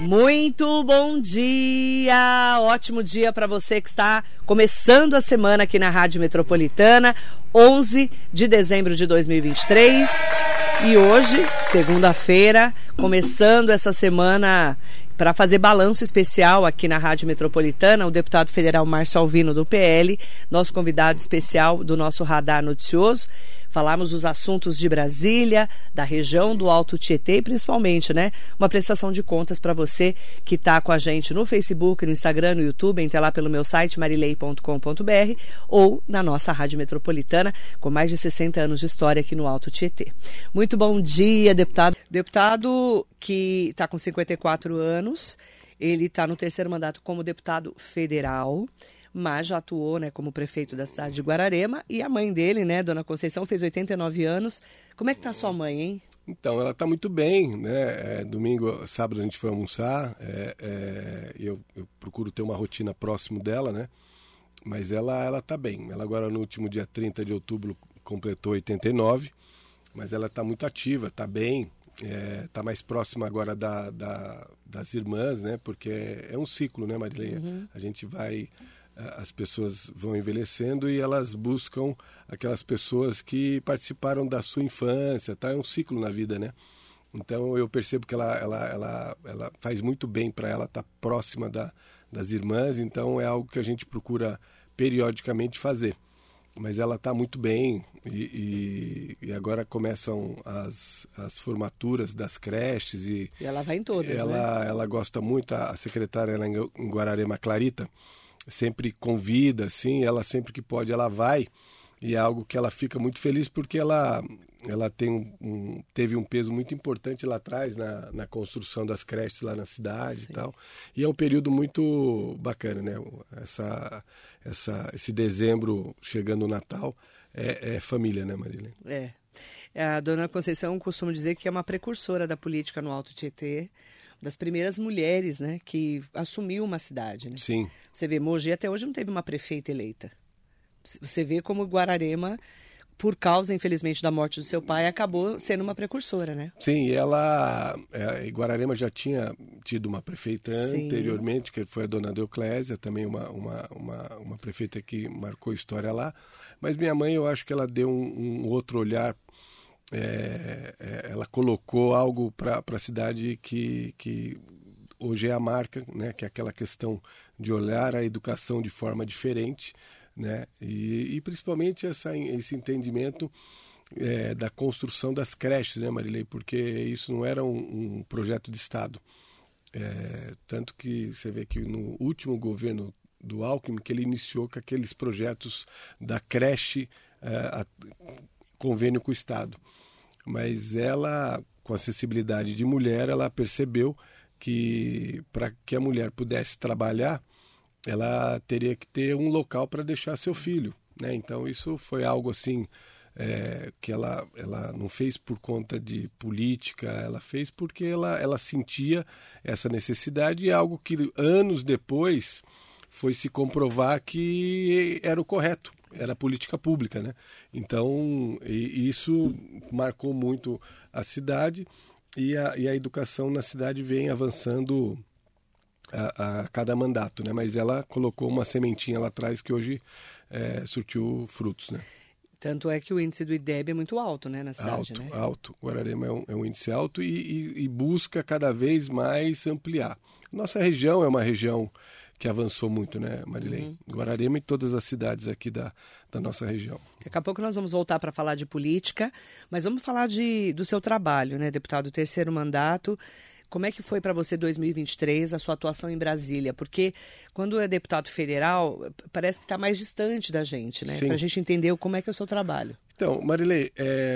Muito bom dia, ótimo dia para você que está começando a semana aqui na Rádio Metropolitana, 11 de dezembro de 2023. E hoje, segunda-feira, começando essa semana para fazer balanço especial aqui na Rádio Metropolitana, o deputado federal Márcio Alvino do PL, nosso convidado especial do nosso Radar Noticioso. Falamos dos assuntos de Brasília, da região do Alto Tietê e principalmente, uma prestação de contas para você que está com a gente no Facebook, no Instagram, no YouTube, entre lá pelo meu site marilei.com.br ou na nossa Rádio Metropolitana, com mais de 60 anos de história aqui no Alto Tietê. Muito bom dia, deputado. Deputado que está com 54 anos, ele está no terceiro mandato como deputado federal, mas já atuou como prefeito da cidade de Guararema, e a mãe dele, Dona Conceição, fez 89 anos. Como é que está a sua mãe, hein? Então, ela está muito bem, sábado a gente foi almoçar, eu procuro ter uma rotina próximo dela, mas ela está bem. Ela agora no último dia 30 de outubro completou 89, mas ela está muito ativa, está bem, está mais próxima agora das irmãs, porque é um ciclo, Marilei? Uhum. A gente vai... As pessoas vão envelhecendo e elas buscam aquelas pessoas que participaram da sua infância, tá? É um ciclo na vida, Então eu percebo que ela faz muito bem para ela estar próxima das irmãs, então é algo que a gente procura periodicamente fazer. Mas ela está muito bem e agora começam as formaturas das creches. E ela vai em todas, Ela gosta muito, a secretária lá em Guararema, Clarita, sempre convida, assim, ela sempre que pode ela vai, e é algo que ela fica muito feliz porque ela teve um peso muito importante lá atrás na construção das creches lá na cidade. Sim. E tal, e é um período muito bacana, esse dezembro chegando o Natal é família, Marília? A Dona Conceição costuma dizer que é uma precursora da política no Alto Tietê, das primeiras mulheres, que assumiu uma cidade, Sim. Você vê, Mogi até hoje não teve uma prefeita eleita. Você vê como Guararema, por causa, infelizmente, da morte do seu pai, acabou sendo uma precursora, Sim, Guararema já tinha tido uma prefeita anteriormente, que foi a dona Deoclésia, também uma prefeita que marcou história lá. Mas minha mãe, eu acho que ela deu um outro olhar. Ela colocou algo para a cidade que hoje é a marca, que é aquela questão de olhar a educação de forma diferente, e principalmente esse entendimento da construção das creches, Marilei, porque isso não era um projeto de Estado. Tanto que você vê que no último governo do Alckmin, que ele iniciou com aqueles projetos da creche, convênio com o Estado. Mas ela, com acessibilidade de mulher, ela percebeu que para que a mulher pudesse trabalhar, ela teria que ter um local para deixar seu filho, Então isso foi algo assim que ela não fez por conta de política, ela fez porque ela sentia essa necessidade, e algo que anos depois foi se comprovar que era o correto. Era política pública, Então, isso marcou muito a cidade, e a educação na cidade vem avançando a cada mandato, Mas ela colocou uma sementinha lá atrás que hoje surtiu frutos, Tanto é que o índice do IDEB é muito alto, na cidade, Alto. Guararema é um índice alto e busca cada vez mais ampliar. Nossa região é uma região que avançou muito, Marilei? Uhum. Guararema e todas as cidades aqui da nossa região. Daqui a pouco nós vamos voltar para falar de política, mas vamos falar do seu trabalho, deputado, terceiro mandato. Como é que foi para você 2023, a sua atuação em Brasília? Porque quando é deputado federal, parece que está mais distante da gente, para a gente entender como é que é o seu trabalho. Então, Marilei,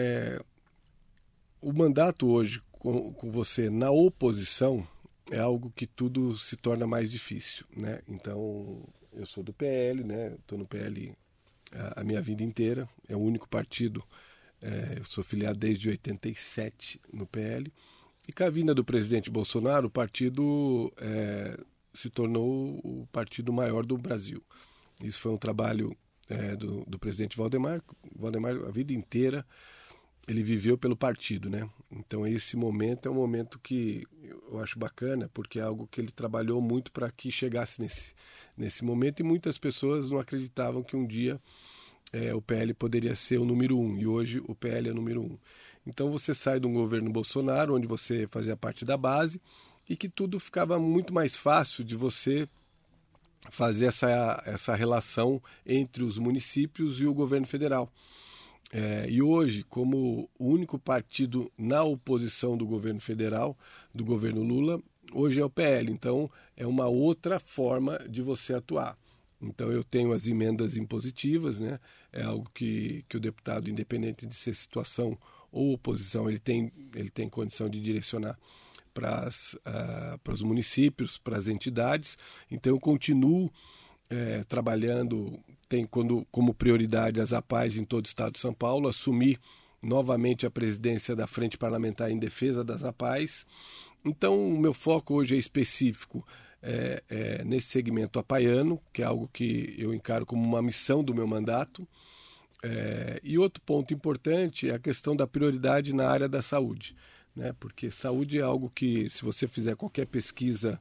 o mandato hoje com você na oposição é algo que tudo se torna mais difícil, Então, eu sou do PL, estou no PL a minha vida inteira, é o único partido, eu sou filiado desde 87 no PL, e com a vinda do presidente Bolsonaro, o partido se tornou o partido maior do Brasil. Isso foi um trabalho do presidente Valdemar, a vida inteira ele viveu pelo partido, né? Então esse momento é um momento que eu acho bacana, porque é algo que ele trabalhou muito para que chegasse nesse momento, e muitas pessoas não acreditavam que um dia o PL poderia ser o número 1, e hoje o PL é o número 1. Então você sai de um governo Bolsonaro, onde você fazia parte da base, e que tudo ficava muito mais fácil de você fazer essa relação entre os municípios e o governo federal. E hoje, como o único partido na oposição do governo federal, do governo Lula, hoje é o PL. Então, é uma outra forma de você atuar. Então, eu tenho as emendas impositivas, né? É algo que o deputado, independente de ser situação ou oposição, ele tem condição de direcionar para os municípios, para as entidades. Então, eu continuo trabalhando, tem como prioridade as APAES em todo o estado de São Paulo, assumi novamente a presidência da Frente Parlamentar em Defesa das APAES. Então, o meu foco hoje é específico nesse segmento apaiano, que é algo que eu encaro como uma missão do meu mandato. E outro ponto importante é a questão da prioridade na área da saúde, né? Porque saúde é algo que, se você fizer qualquer pesquisa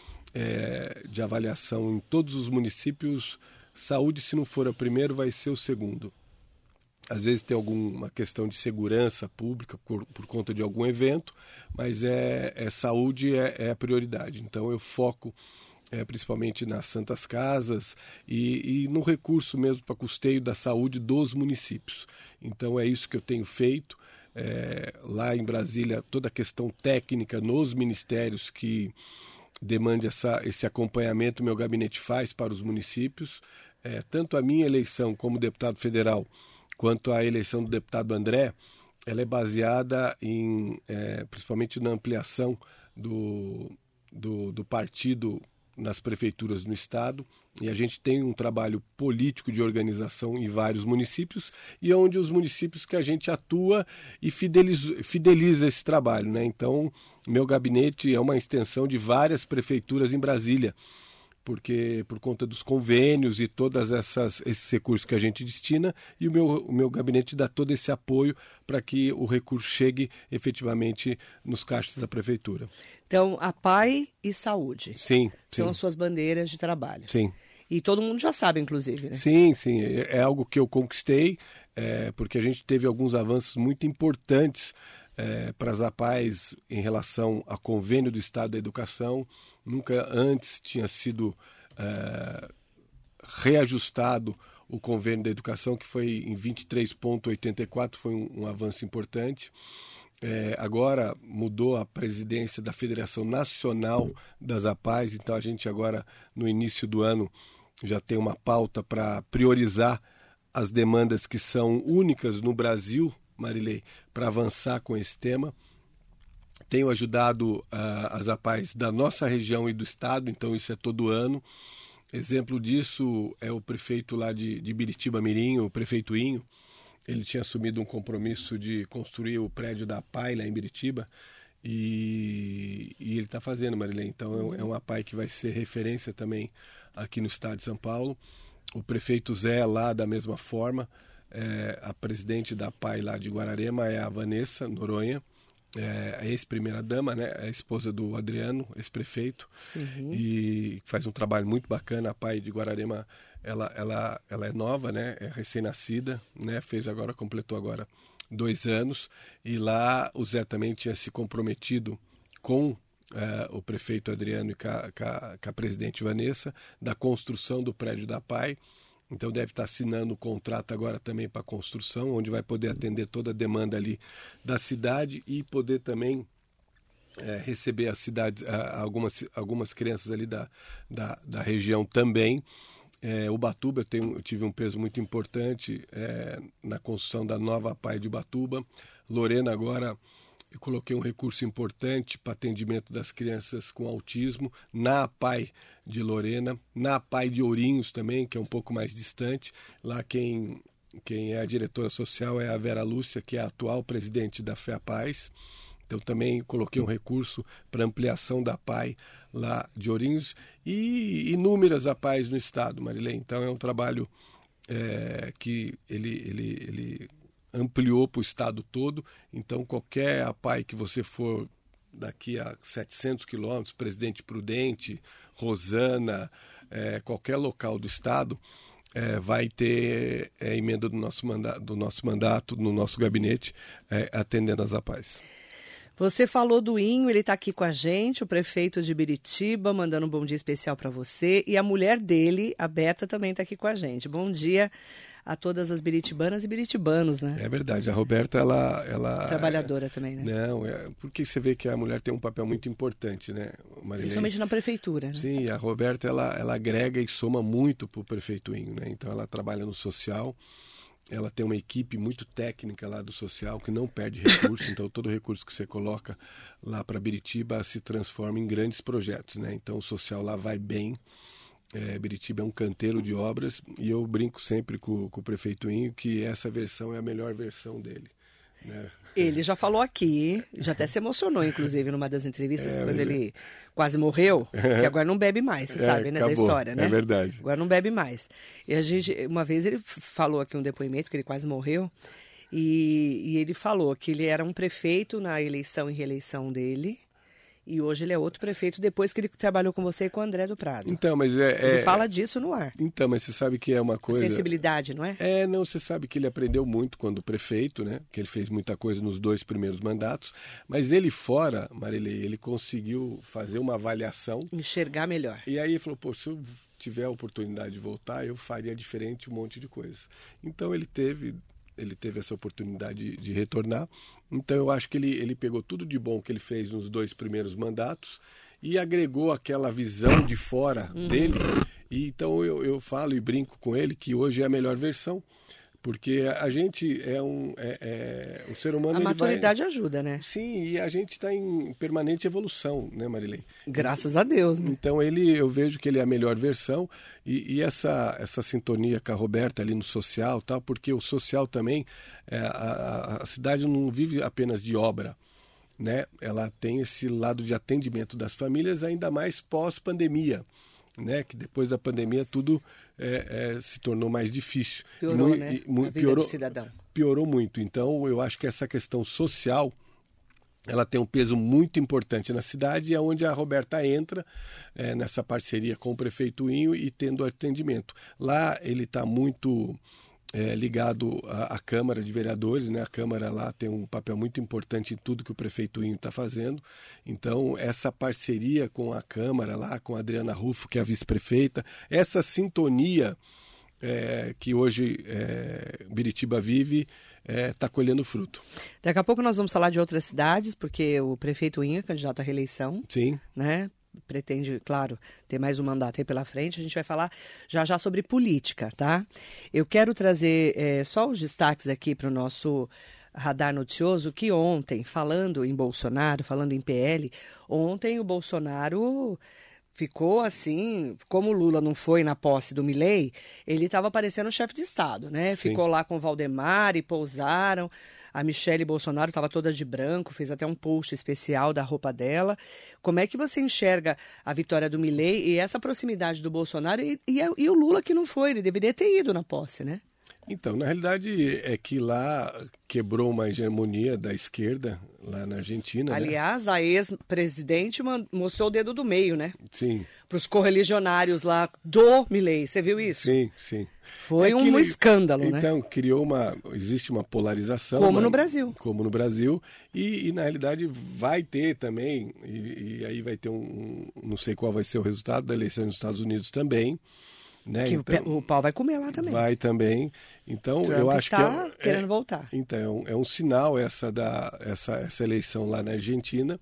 de avaliação em todos os municípios, saúde, se não for o primeiro, vai ser o segundo. Às vezes tem alguma questão de segurança pública por conta de algum evento, mas saúde é a prioridade. Então eu foco principalmente nas santas casas e no recurso mesmo para custeio da saúde dos municípios. Então é isso que eu tenho feito. Lá em Brasília, toda a questão técnica nos ministérios que demande esse acompanhamento, meu gabinete faz para os municípios. Tanto a minha eleição como deputado federal, quanto a eleição do deputado André, ela é baseada principalmente na ampliação do partido nas prefeituras no estado, e a gente tem um trabalho político de organização em vários municípios, e é onde os municípios que a gente atua e fideliza esse trabalho, né? Então, meu gabinete é uma extensão de várias prefeituras em Brasília, porque por conta dos convênios e todos esses recursos que a gente destina, e o meu gabinete dá todo esse apoio para que o recurso chegue efetivamente nos caixas da prefeitura. Então, a PAI e saúde. Sim. São as suas bandeiras de trabalho. Sim. E todo mundo já sabe, inclusive, né? Sim. É algo que eu conquistei, porque a gente teve alguns avanços muito importantes para as APAES em relação ao convênio do Estado da Educação. Nunca antes tinha sido reajustado o convênio da educação, que foi em 23,84, foi um avanço importante. Agora mudou a presidência da Federação Nacional das APAES, então a gente agora, no início do ano, já tem uma pauta para priorizar as demandas que são únicas no Brasil, Marilei, para avançar com esse tema. Tenho ajudado as APAES da nossa região e do estado, então isso é todo ano. Exemplo disso é o prefeito lá de Biritiba Mirim, o prefeito Inho. Ele tinha assumido um compromisso de construir o prédio da APAE lá em Biritiba, e ele está fazendo, Marilei. Então é uma APAE que vai ser referência também aqui no estado de São Paulo. O prefeito Zé lá da mesma forma. A presidente da APAE lá de Guararema é a Vanessa Noronha, a ex-primeira-dama, né, a esposa do Adriano, ex-prefeito. Sim. E faz um trabalho muito bacana. A APAE de Guararema, ela é nova, né, é recém-nascida, né, completou agora 2 anos, e lá o Zé também tinha se comprometido com o prefeito Adriano e com a presidente Vanessa, da construção do prédio da APAE. Então deve estar assinando o contrato agora também para a construção, onde vai poder atender toda a demanda ali da cidade e poder também receber a cidade, algumas crianças ali da região também. Ubatuba, eu tive um peso muito importante na construção da nova APAE de Ubatuba. Lorena agora, eu coloquei um recurso importante para atendimento das crianças com autismo na APAE de Lorena, na APAE de Ourinhos também, que é um pouco mais distante. Lá quem é a diretora social é a Vera Lúcia, que é a atual presidente da FEAPAES. Então também coloquei um recurso para ampliação da APAE lá de Ourinhos e inúmeras APAES no estado, Marilei. Então é um trabalho que ele ampliou para o estado todo. Então, qualquer APAE que você for daqui a 700 quilômetros, Presidente Prudente, Rosana, qualquer local do estado, vai ter emenda do nosso mandato, no nosso gabinete, atendendo as APAES. Você falou do Inho, ele está aqui com a gente, o prefeito de Biritiba, mandando um bom dia especial para você. E a mulher dele, a Beta, também está aqui com a gente. Bom dia a todas as biritibanas e biritibanos, né? É verdade, a Roberta, ela... Trabalhadora também, né? Não, porque você vê que a mulher tem um papel muito importante, né, Marilene? Principalmente na prefeitura, né? Sim, a Roberta, ela agrega e soma muito para o prefeito Inho, né? Então, ela trabalha no social, ela tem uma equipe muito técnica lá do social, que não perde recurso, então todo recurso que você coloca lá para Biritiba se transforma em grandes projetos, né? Então, o social lá vai bem. Biritiba é um canteiro de obras e eu brinco sempre com o prefeito Inho que essa versão é a melhor versão dele, né? Ele já falou aqui, já até se emocionou, inclusive, numa das entrevistas, quando ele quase morreu, que agora não bebe mais, você sabe, né, acabou, da história, né? É verdade. Agora não bebe mais. E uma vez ele falou aqui um depoimento, que ele quase morreu, e ele falou que ele era um prefeito na eleição e reeleição dele, e hoje ele é outro prefeito depois que ele trabalhou com você e com o André do Prado. Então, mas ele fala disso no ar. Então, mas você sabe que é uma coisa... A sensibilidade, não é? Não, você sabe que ele aprendeu muito quando prefeito, né? Que ele fez muita coisa nos 2 primeiros mandatos, mas ele fora, Marilei, ele conseguiu fazer uma avaliação... Enxergar melhor. E aí ele falou, se eu tiver a oportunidade de voltar, eu faria diferente um monte de coisa. Então ele teve essa oportunidade de retornar. Então eu acho que ele pegou tudo de bom que ele fez nos 2 primeiros mandatos e agregou aquela visão de fora dele. E então eu falo e brinco com ele que hoje é a melhor versão, porque a gente o ser humano... A maturidade ajuda, né? Sim, e a gente está em permanente evolução, né, Marilei? Graças a Deus, né? Então eu vejo que ele é a melhor versão e essa sintonia com a Roberta ali no social, tal, porque o social também, a cidade não vive apenas de obra, né? Ela tem esse lado de atendimento das famílias, ainda mais pós-pandemia, né? Que depois da pandemia tudo se tornou mais difícil. Piorou, né? A vida do cidadão. Piorou muito. Então, eu acho que essa questão social, ela tem um peso muito importante na cidade, é onde a Roberta entra nessa parceria com o prefeito Inho e tendo atendimento. Lá ele está muito ligado à Câmara de Vereadores, né? A Câmara lá tem um papel muito importante em tudo que o prefeito Inho está fazendo. Então, essa parceria com a Câmara lá, com a Adriana Rufo, que é a vice-prefeita, essa sintonia que hoje Biritiba vive, está colhendo fruto. Daqui a pouco nós vamos falar de outras cidades, porque o prefeito Inho é candidato à reeleição. Sim. Né? Pretende, claro, ter mais um mandato aí pela frente. A gente vai falar já sobre política, tá? Eu quero trazer só os destaques aqui para o nosso radar noticioso, que ontem, falando em Bolsonaro, falando em PL, ontem o Bolsonaro ficou assim, como o Lula não foi na posse do Milei, ele estava parecendo chefe de Estado, né? Sim. Ficou lá com o Valdemar e pousaram. A Michele Bolsonaro estava toda de branco, fez até um post especial da roupa dela. Como é que você enxerga a vitória do Milei e essa proximidade do Bolsonaro e o Lula que não foi? Ele deveria ter ido na posse, né? Então, na realidade é que lá quebrou uma hegemonia da esquerda, lá na Argentina. Aliás, né? A ex-presidente mostrou o dedo do meio, né? Sim. Para os correligionários lá do Milei. Você viu isso? Sim, sim. Foi um escândalo, né? Então, existe uma polarização. Como no Brasil. Como no Brasil. E na realidade vai ter também, e aí vai ter não sei qual vai ser o resultado da eleição nos Estados Unidos também. Né? Que então, o pau vai comer lá também. Vai também. Então, Trump eu acho que querendo voltar. Então, é um sinal essa eleição lá na Argentina.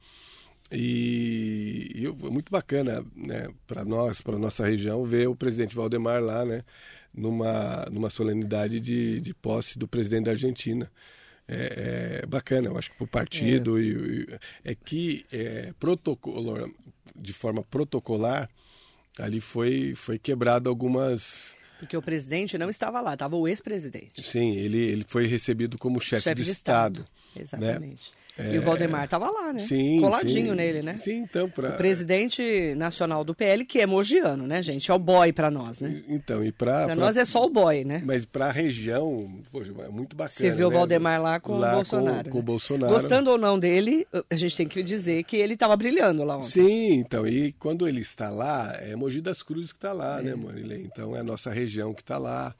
E é muito bacana, né, para nossa região, ver o presidente Valdemar lá, né, numa solenidade de posse do presidente da Argentina. É bacana, eu acho que para o partido. De forma protocolar, ali foi quebrado algumas... Porque o presidente não estava lá, estava o ex-presidente. Sim, ele foi recebido como chefe de Estado. Exatamente. Né? E o Valdemar estava lá, né? Sim, coladinho sim. nele, né? Sim, então... O presidente nacional do PL, que é mogiano, né, gente? É o boy para nós, né? Então, e para nós é só o boy, né? Mas para a região, poxa, é muito bacana. Você viu, né, o Valdemar lá com o Bolsonaro. Com né? o Bolsonaro. Gostando ou não dele, a gente tem que dizer que ele estava brilhando lá ontem. Sim, então, e quando ele está lá, é Mogi das Cruzes que está lá, né, Marilene? Então, é a nossa região que está lá.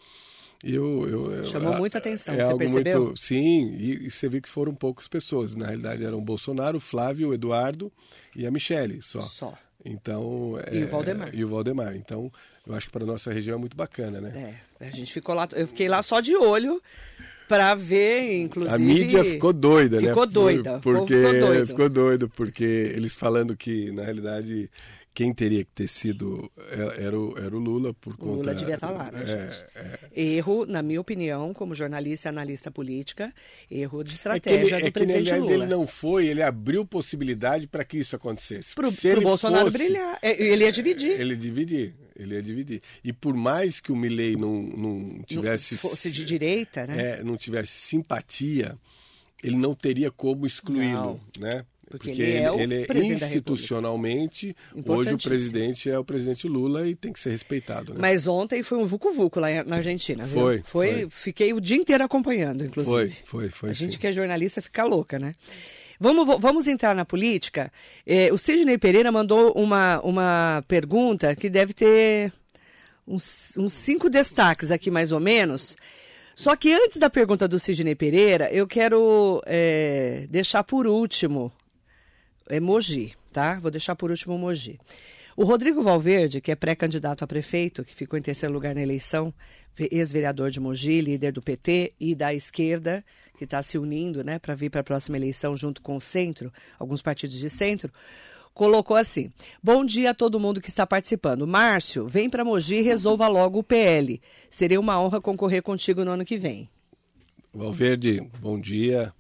Chamou muita atenção, você algo percebeu? Muito, sim, e você viu que foram poucas pessoas. Na realidade, eram o Bolsonaro, o Flávio, o Eduardo e a Michele só. Então, e o Valdemar. E o Valdemar. Então, eu acho que para a nossa região é muito bacana, né? A gente ficou lá, eu fiquei lá só de olho para ver, inclusive... A mídia ficou doida, né? Ficou doida. Ficou doido, porque eles falando que, na realidade... Quem teria que ter sido era o Lula por conta... O Lula devia estar lá, né, gente? Erro, na minha opinião, como jornalista e analista política, erro de estratégia do presidente Lula. Ele não foi, ele abriu possibilidade para que isso acontecesse. Para o Bolsonaro brilhar. Ele ia dividir. Ele ia dividir. E por mais que o Milei não tivesse... fosse de direita, né? Não tivesse simpatia, ele não teria como excluí-lo, né? Porque ele é institucionalmente, hoje o presidente é o presidente Lula e tem que ser respeitado. Né? Mas ontem foi um vucu-vucu lá na Argentina, viu? Foi. Fiquei o dia inteiro acompanhando, inclusive. Foi. A gente que é jornalista fica louca, né? Vamos entrar na política. O Sidney Pereira mandou uma pergunta que deve ter uns 5 destaques aqui, mais ou menos. Só que antes da pergunta do Sidney Pereira, eu quero deixar por último... Mogi, tá? Vou deixar por último Mogi. O Rodrigo Valverde, que é pré-candidato a prefeito, que ficou em terceiro lugar na eleição, ex-vereador de Mogi, líder do PT e da esquerda, que está se unindo, né, para vir para a próxima eleição junto com o centro, alguns partidos de centro, colocou assim: bom dia a todo mundo que está participando. Márcio, vem para Mogi e resolva logo o PL. Seria uma honra concorrer contigo no ano que vem. Valverde, bom dia.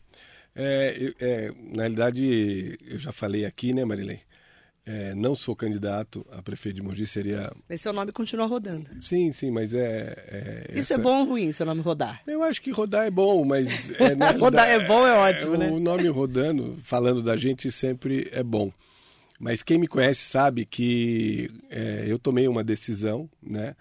Na realidade, eu já falei aqui, né, Marilene? Não sou candidato a prefeito de Mogi, seria... Mas seu nome continua rodando. Sim, mas Isso é bom ou ruim, seu nome rodar? Eu acho que rodar é bom, mas... rodar é bom, é ótimo, né? O nome rodando, falando da gente, sempre é bom. Mas quem me conhece sabe que eu tomei uma decisão, né,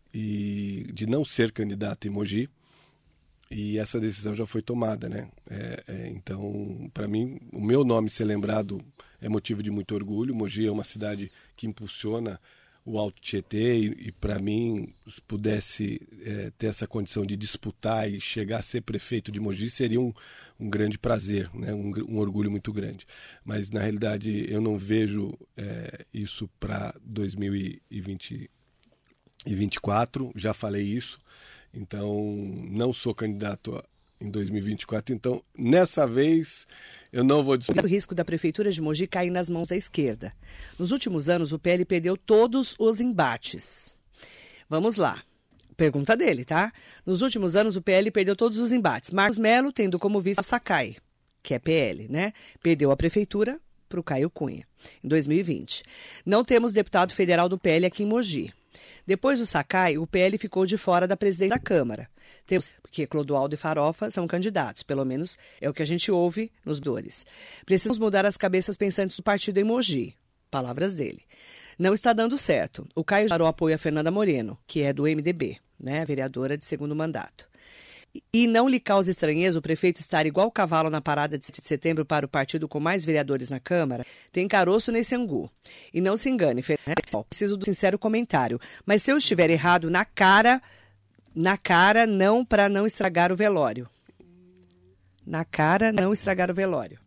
de não ser candidato em Mogi. E essa decisão já foi tomada, né? Então, para mim, o meu nome ser lembrado é motivo de muito orgulho. Mogi é uma cidade que impulsiona o Alto Tietê e para mim, se pudesse ter essa condição de disputar e chegar a ser prefeito de Mogi, seria um grande prazer, né? Um orgulho muito grande. Mas, na realidade, eu não vejo isso para 2024, já falei isso. Então, não sou candidato em 2024. Então, nessa vez, eu não vou disputar. O risco da Prefeitura de Mogi cair nas mãos da esquerda. Nos últimos anos, o PL perdeu todos os embates. Vamos lá. Pergunta dele, tá? Nos últimos anos, o PL perdeu todos os embates. Marcos Melo, tendo como vice o Sakai, que é PL, né? Perdeu a Prefeitura para o Caio Cunha, em 2020. Não temos deputado federal do PL aqui em Mogi. Depois do Sakai, o PL ficou de fora da presidência da Câmara. Porque Clodoaldo e Farofa são candidatos, pelo menos é o que a gente ouve nos dores. Precisamos mudar as cabeças pensantes do partido em Mogi. Palavras dele. Não está dando certo. O Caio darou apoio a Fernanda Moreno, que é do MDB, né, vereadora de segundo mandato. E não lhe causa estranheza o prefeito estar igual cavalo na parada de 7 de setembro para o partido com mais vereadores na Câmara? Tem caroço nesse angu. E não se engane, preciso do sincero comentário. Mas se eu estiver errado, na cara, não, para não estragar o velório. Na cara, não estragar o velório.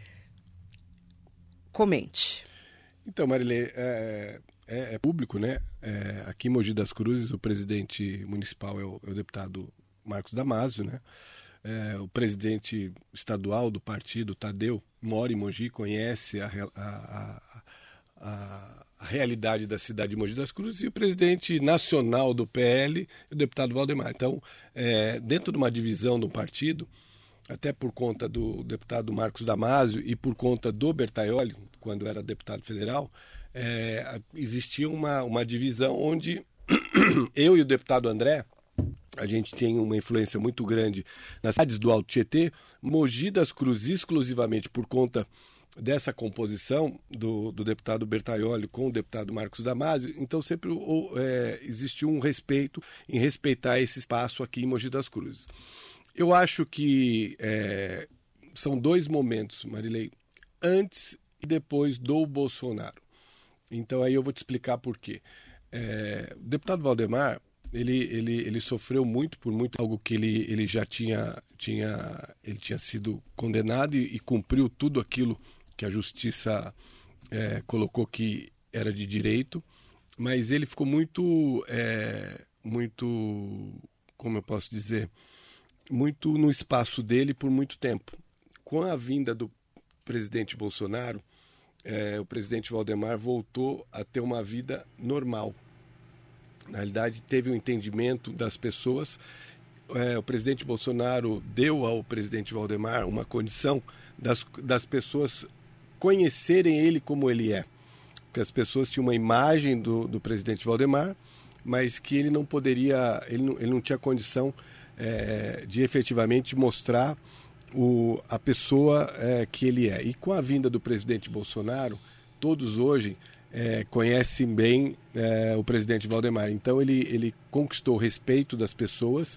Comente. Então, Marilê, é público, né? Aqui em Mogi das Cruzes, o presidente municipal é o deputado Marcos Damasio, né? O presidente estadual do partido, Tadeu, mora em Mogi, conhece a realidade da cidade de Mogi das Cruzes, e o presidente nacional do PL, o deputado Valdemar. Então, dentro de uma divisão do partido, até por conta do deputado Marcos Damasio e por conta do Bertaioli, quando era deputado federal, existia uma divisão onde eu e o deputado André a gente tem uma influência muito grande nas cidades do Alto Tietê. Mogi das Cruzes, exclusivamente por conta dessa composição do deputado Bertaioli com o deputado Marcos Damasio, então sempre existiu um respeito em respeitar esse espaço aqui em Mogi das Cruzes. Eu acho que são dois momentos, Marilei, antes e depois do Bolsonaro. Então aí eu vou te explicar por quê. O deputado Valdemar, ele sofreu muito algo que ele já tinha sido condenado e cumpriu tudo aquilo que a justiça colocou que era de direito, mas ele ficou muito, como eu posso dizer, muito no espaço dele por muito tempo. Com a vinda do presidente Bolsonaro, o presidente Valdemar voltou a ter uma vida normal. Na realidade, teve um entendimento das pessoas. O presidente Bolsonaro deu ao presidente Valdemar uma condição das pessoas conhecerem ele como ele é. Porque as pessoas tinham uma imagem do presidente Valdemar, mas que ele não poderia, ele não tinha condição de efetivamente mostrar a pessoa que ele é. E com a vinda do presidente Bolsonaro, todos hoje conhecem bem o presidente Valdemar. Então ele conquistou o respeito das pessoas.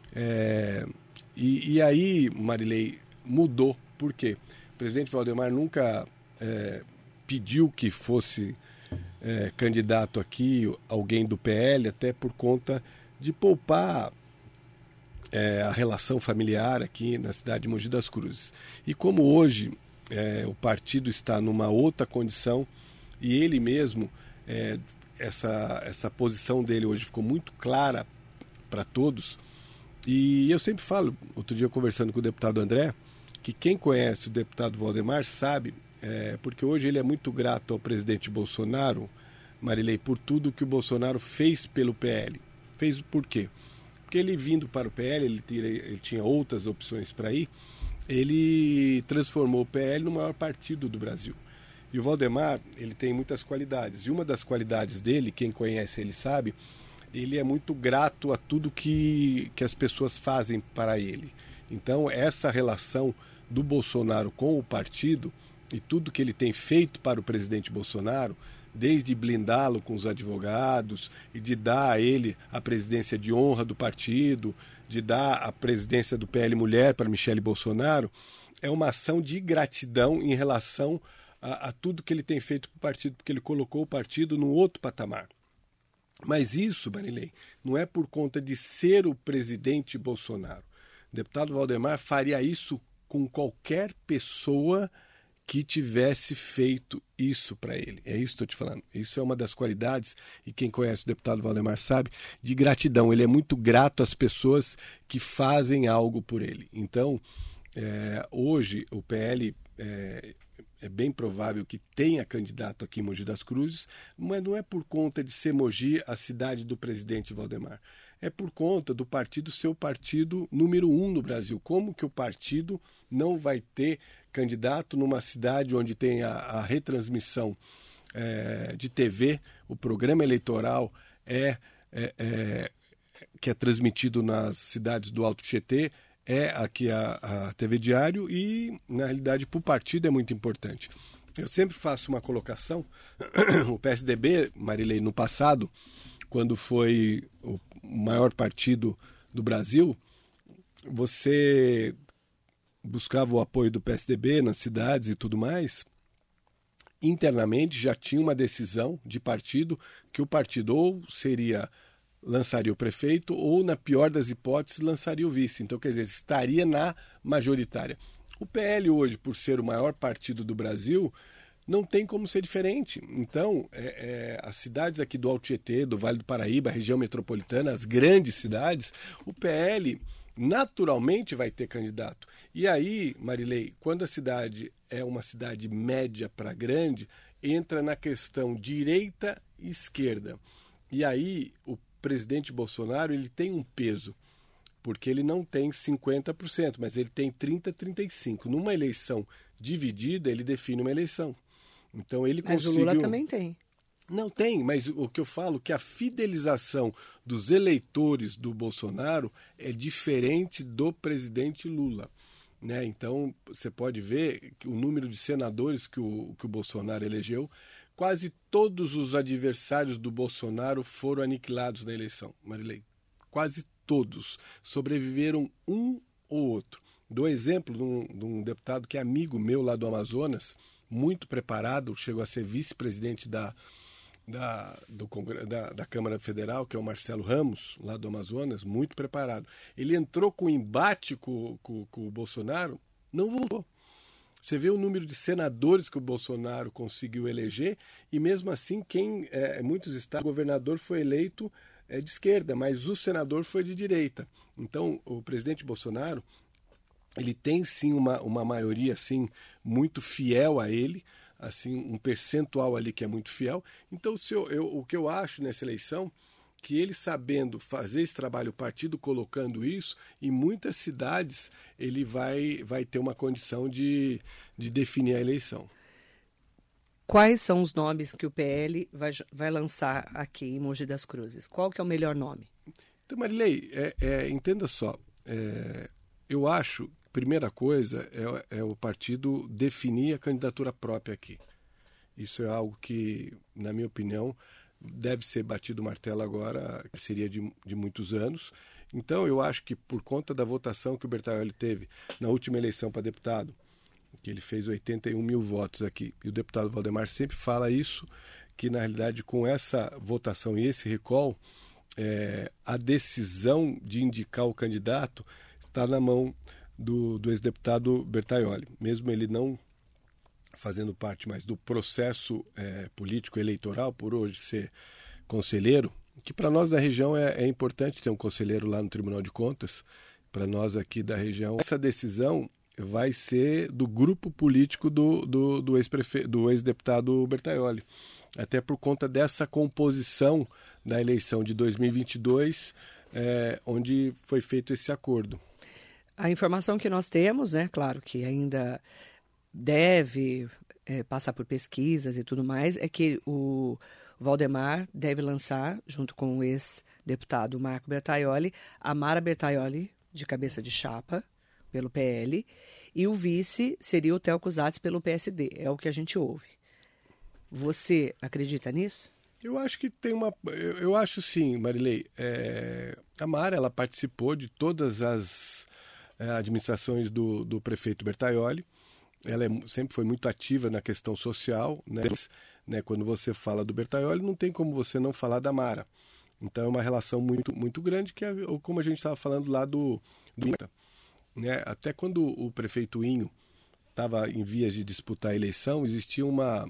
E aí, Marilei, mudou. Por quê? O presidente Valdemar nunca pediu que fosse candidato aqui alguém do PL, até por conta de poupar a relação familiar aqui na cidade de Mogi das Cruzes. E como hoje o partido está numa outra condição e ele mesmo, essa posição dele hoje ficou muito clara para todos. E eu sempre falo, outro dia conversando com o deputado André, que quem conhece o deputado Valdemar sabe, porque hoje ele é muito grato ao presidente Bolsonaro, Marilei, por tudo que o Bolsonaro fez pelo PL. Fez por quê? Porque ele vindo para o PL, ele tinha outras opções para ir, ele transformou o PL no maior partido do Brasil. E o Valdemar, ele tem muitas qualidades. E uma das qualidades dele, quem conhece ele sabe, ele é muito grato a tudo que as pessoas fazem para ele. Então, essa relação do Bolsonaro com o partido e tudo que ele tem feito para o presidente Bolsonaro, desde blindá-lo com os advogados e de dar a ele a presidência de honra do partido, de dar a presidência do PL Mulher para Michele Bolsonaro, é uma ação de gratidão em relação a tudo que ele tem feito para o partido, porque ele colocou o partido num outro patamar. Mas isso, Marilei, não é por conta de ser o presidente Bolsonaro. O deputado Valdemar faria isso com qualquer pessoa que tivesse feito isso para ele. É isso que estou te falando. Isso é uma das qualidades, e quem conhece o deputado Valdemar sabe, de gratidão. Ele é muito grato às pessoas que fazem algo por ele. Então, hoje o PL é bem provável que tenha candidato aqui em Mogi das Cruzes, mas não é por conta de ser Mogi a cidade do presidente Valdemar. É por conta do partido ser o partido número 1 no Brasil. Como que o partido não vai ter candidato numa cidade onde tem a retransmissão de TV, o programa eleitoral que é transmitido nas cidades do Alto Tietê, aqui a TV Diário, e na realidade para o partido é muito importante. Eu sempre faço uma colocação, o PSDB, Marilei, no passado, quando foi o maior partido do Brasil, você buscava o apoio do PSDB nas cidades e tudo mais, internamente já tinha uma decisão de partido que o partido ou lançaria o prefeito ou, na pior das hipóteses, lançaria o vice. Então, quer dizer, estaria na majoritária. O PL hoje, por ser o maior partido do Brasil, não tem como ser diferente. Então, as cidades aqui do Alto Tietê, do Vale do Paraíba, a região metropolitana, as grandes cidades, o PL naturalmente vai ter candidato. E aí, Marilei, quando a cidade é uma cidade média para grande, entra na questão direita e esquerda. E aí, o presidente Bolsonaro, ele tem um peso, porque ele não tem 50%, mas ele tem 30%, 35%. Numa eleição dividida, ele define uma eleição. Então ele conseguiu... Mas o Lula também tem. Não tem, mas o que eu falo é que a fidelização dos eleitores do Bolsonaro é diferente do presidente Lula. Né? Então, você pode ver que o número de senadores que o Bolsonaro elegeu, quase todos os adversários do Bolsonaro foram aniquilados na eleição, Marilei. Quase todos. Sobreviveram um ou outro. Dou exemplo de um deputado que é amigo meu lá do Amazonas, muito preparado, chegou a ser vice-presidente da Câmara Federal, que é o Marcelo Ramos, lá do Amazonas, muito preparado. Ele entrou com embate com o Bolsonaro, não voltou. Você vê o número de senadores que o Bolsonaro conseguiu eleger, e mesmo assim, muitos estados, o governador foi eleito de esquerda, mas o senador foi de direita. Então, o presidente Bolsonaro, ele tem sim uma maioria assim, muito fiel a ele, assim, um percentual ali que é muito fiel. Então, o que eu acho nessa eleição, que ele sabendo fazer esse trabalho, o partido colocando isso, em muitas cidades ele vai ter uma condição de definir a eleição. Quais são os nomes que o PL vai lançar aqui em Mogi das Cruzes? Qual que é o melhor nome? Então, Marilei, entenda só, eu acho, primeira coisa, é o partido definir a candidatura própria aqui. Isso é algo que, na minha opinião, deve ser batido o martelo agora, seria de muitos anos. Então, eu acho que por conta da votação que o Bertaioli teve na última eleição para deputado, que ele fez 81 mil votos aqui, e o deputado Valdemar sempre fala isso, que na realidade com essa votação e esse recall, a decisão de indicar o candidato está na mão do ex-deputado Bertaioli, mesmo ele não fazendo parte mais do processo político eleitoral, por hoje ser conselheiro, que para nós da região é importante ter um conselheiro lá no Tribunal de Contas, para nós aqui da região. Essa decisão vai ser do grupo político do ex-deputado Bertaioli, até por conta dessa composição da eleição de 2022, onde foi feito esse acordo. A informação que nós temos, né, claro que ainda deve passar por pesquisas e tudo mais, é que o Valdemar deve lançar, junto com o ex-deputado Marco Bertaioli, a Mara Bertaioli, de cabeça de chapa, pelo PL, e o vice seria o Theo Cusatz pelo PSD, é o que a gente ouve. Você acredita nisso? Eu acho que eu acho sim, Marilei. A Mara, ela participou de todas as administrações do prefeito Bertaioli. Ela sempre foi muito ativa na questão social, né? Quando você fala do Bertaioli, não tem como você não falar da Mara. Então é uma relação muito, muito grande, que é como a gente estava falando lá do né? Até quando o prefeito Inho estava em vias de disputar a eleição, existia uma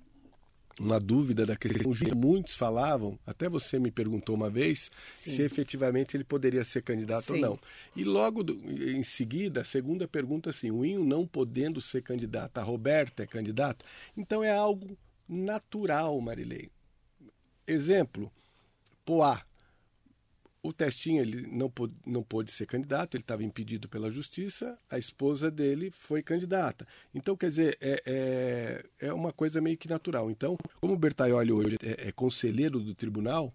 dúvida da questão. Muitos falavam, até você me perguntou uma vez, sim, se efetivamente ele poderia ser candidato, sim, ou não. E logo em seguida, a segunda pergunta, assim, o Inho não podendo ser candidato, a Roberta é candidata? Então é algo natural, Marilei. Exemplo, Poá. O Testinha, ele não pôde ser candidato, ele estava impedido pela justiça, a esposa dele foi candidata. Então, quer dizer, é uma coisa meio que natural. Então, como o Bertaioli hoje é conselheiro do tribunal,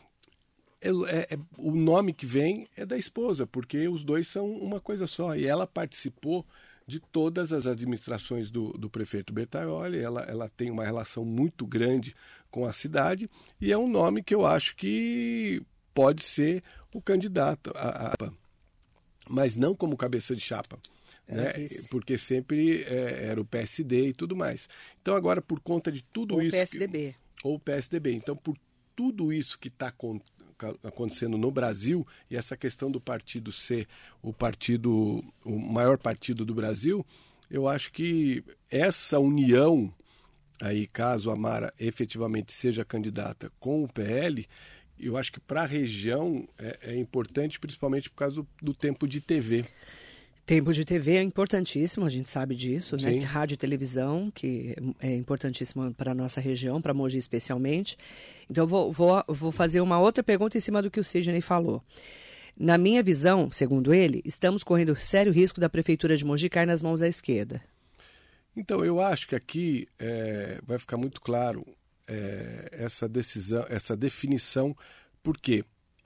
o nome que vem é da esposa, porque os dois são uma coisa só. E ela participou de todas as administrações do prefeito Bertaioli, ela tem uma relação muito grande com a cidade, e é um nome que eu acho que pode ser o candidato, mas não como cabeça de chapa, né? Porque sempre era o PSD e tudo mais. Então agora, por conta de tudo isso... Ou o PSDB. Então, por tudo isso que está acontecendo no Brasil, e essa questão do partido ser o maior partido do Brasil, eu acho que essa união, aí caso a Mara efetivamente seja candidata com o PL, eu acho que para a região é importante, principalmente por causa do tempo de TV. Tempo de TV é importantíssimo, a gente sabe disso, né? Sim. Rádio e televisão, que é importantíssimo para a nossa região, para Mogi especialmente. Então, vou fazer uma outra pergunta em cima do que o Sidney falou. Na minha visão, segundo ele, estamos correndo sério risco da Prefeitura de Mogi cair nas mãos da esquerda. Então, eu acho que aqui vai ficar muito claro essa decisão, essa definição, por quê?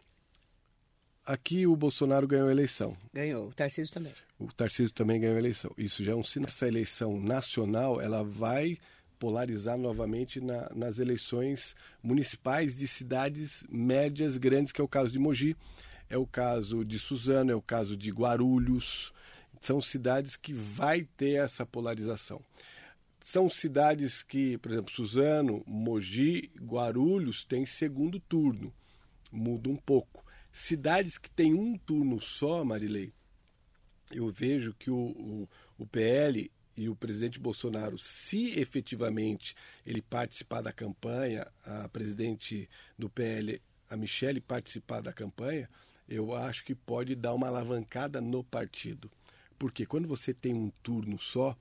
Aqui o Bolsonaro ganhou a eleição. Ganhou, o Tarcísio também. O Tarcísio também ganhou a eleição. Isso já é um sinal. Essa eleição nacional, ela vai polarizar novamente nas eleições municipais de cidades médias, grandes, que é o caso de Mogi, é o caso de Suzano, é o caso de Guarulhos. São cidades que vai ter essa polarização. São cidades que, por exemplo, Suzano, Mogi, Guarulhos tem segundo turno. Muda um pouco. Cidades que têm um turno só, Marilei, eu vejo que o PL e o presidente Bolsonaro, se efetivamente ele participar da campanha, a presidente do PL, a Michele, participar da campanha, eu acho que pode dar uma alavancada no partido. Porque quando você tem um turno só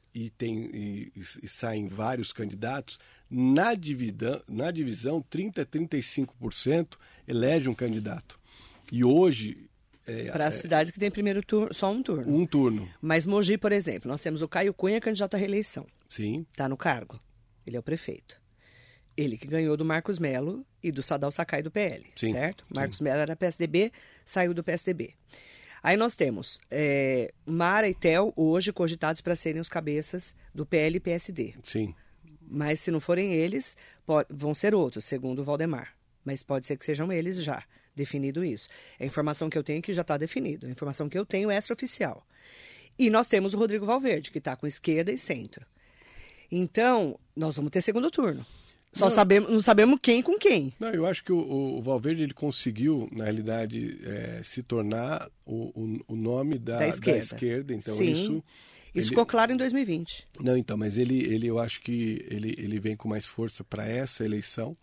e saem vários candidatos, na divisão 30% a 35% elege um candidato. E hoje... Para as cidades que têm primeiro turno, só um turno. Um turno. Mas Mogi, por exemplo, nós temos o Caio Cunha, candidato à reeleição. Sim. Está no cargo. Ele é o prefeito. Ele que ganhou do Marcos Melo e do Sadal Sakai do PL, sim, certo? sim. Marcos Melo era PSDB, saiu do PSDB. Aí nós temos Mara e Theo, hoje cogitados para serem os cabeças do PL e PSD. Sim. Mas se não forem eles, vão ser outros, segundo o Valdemar. Mas pode ser que sejam eles já, definido isso. A informação que eu tenho é que já está definido. A informação que eu tenho é extraoficial. E nós temos o Rodrigo Valverde, que está com esquerda e centro. Então, nós vamos ter segundo turno. Não sabemos quem com quem. Não, eu acho que o Valverde ele conseguiu, na realidade, se tornar o nome da esquerda. Então, sim. Isso ficou claro em 2020. Não, então, mas eu acho que ele vem com mais força para essa eleição.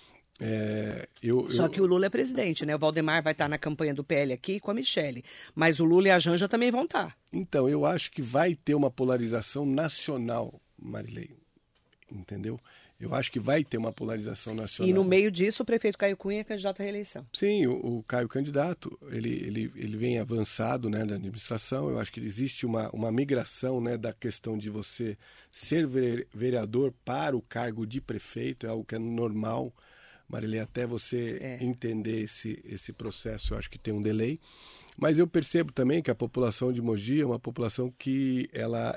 Só que o Lula é presidente, né? O Valdemar vai estar na campanha do PL aqui com a Michele. Mas o Lula e a Janja também vão estar. Então, eu acho que vai ter uma polarização nacional, Marilei. Entendeu? Eu acho que vai ter uma polarização nacional. E no meio disso, o prefeito Caio Cunha é candidato à reeleição. Sim, o Caio candidato, ele vem avançado, né, na administração. Eu acho que existe uma migração, né, da questão de você ser vereador para o cargo de prefeito, é algo que é normal. Marilei, até você entender esse processo, eu acho que tem um delay. Mas eu percebo também que a população de Mogi é uma população que ela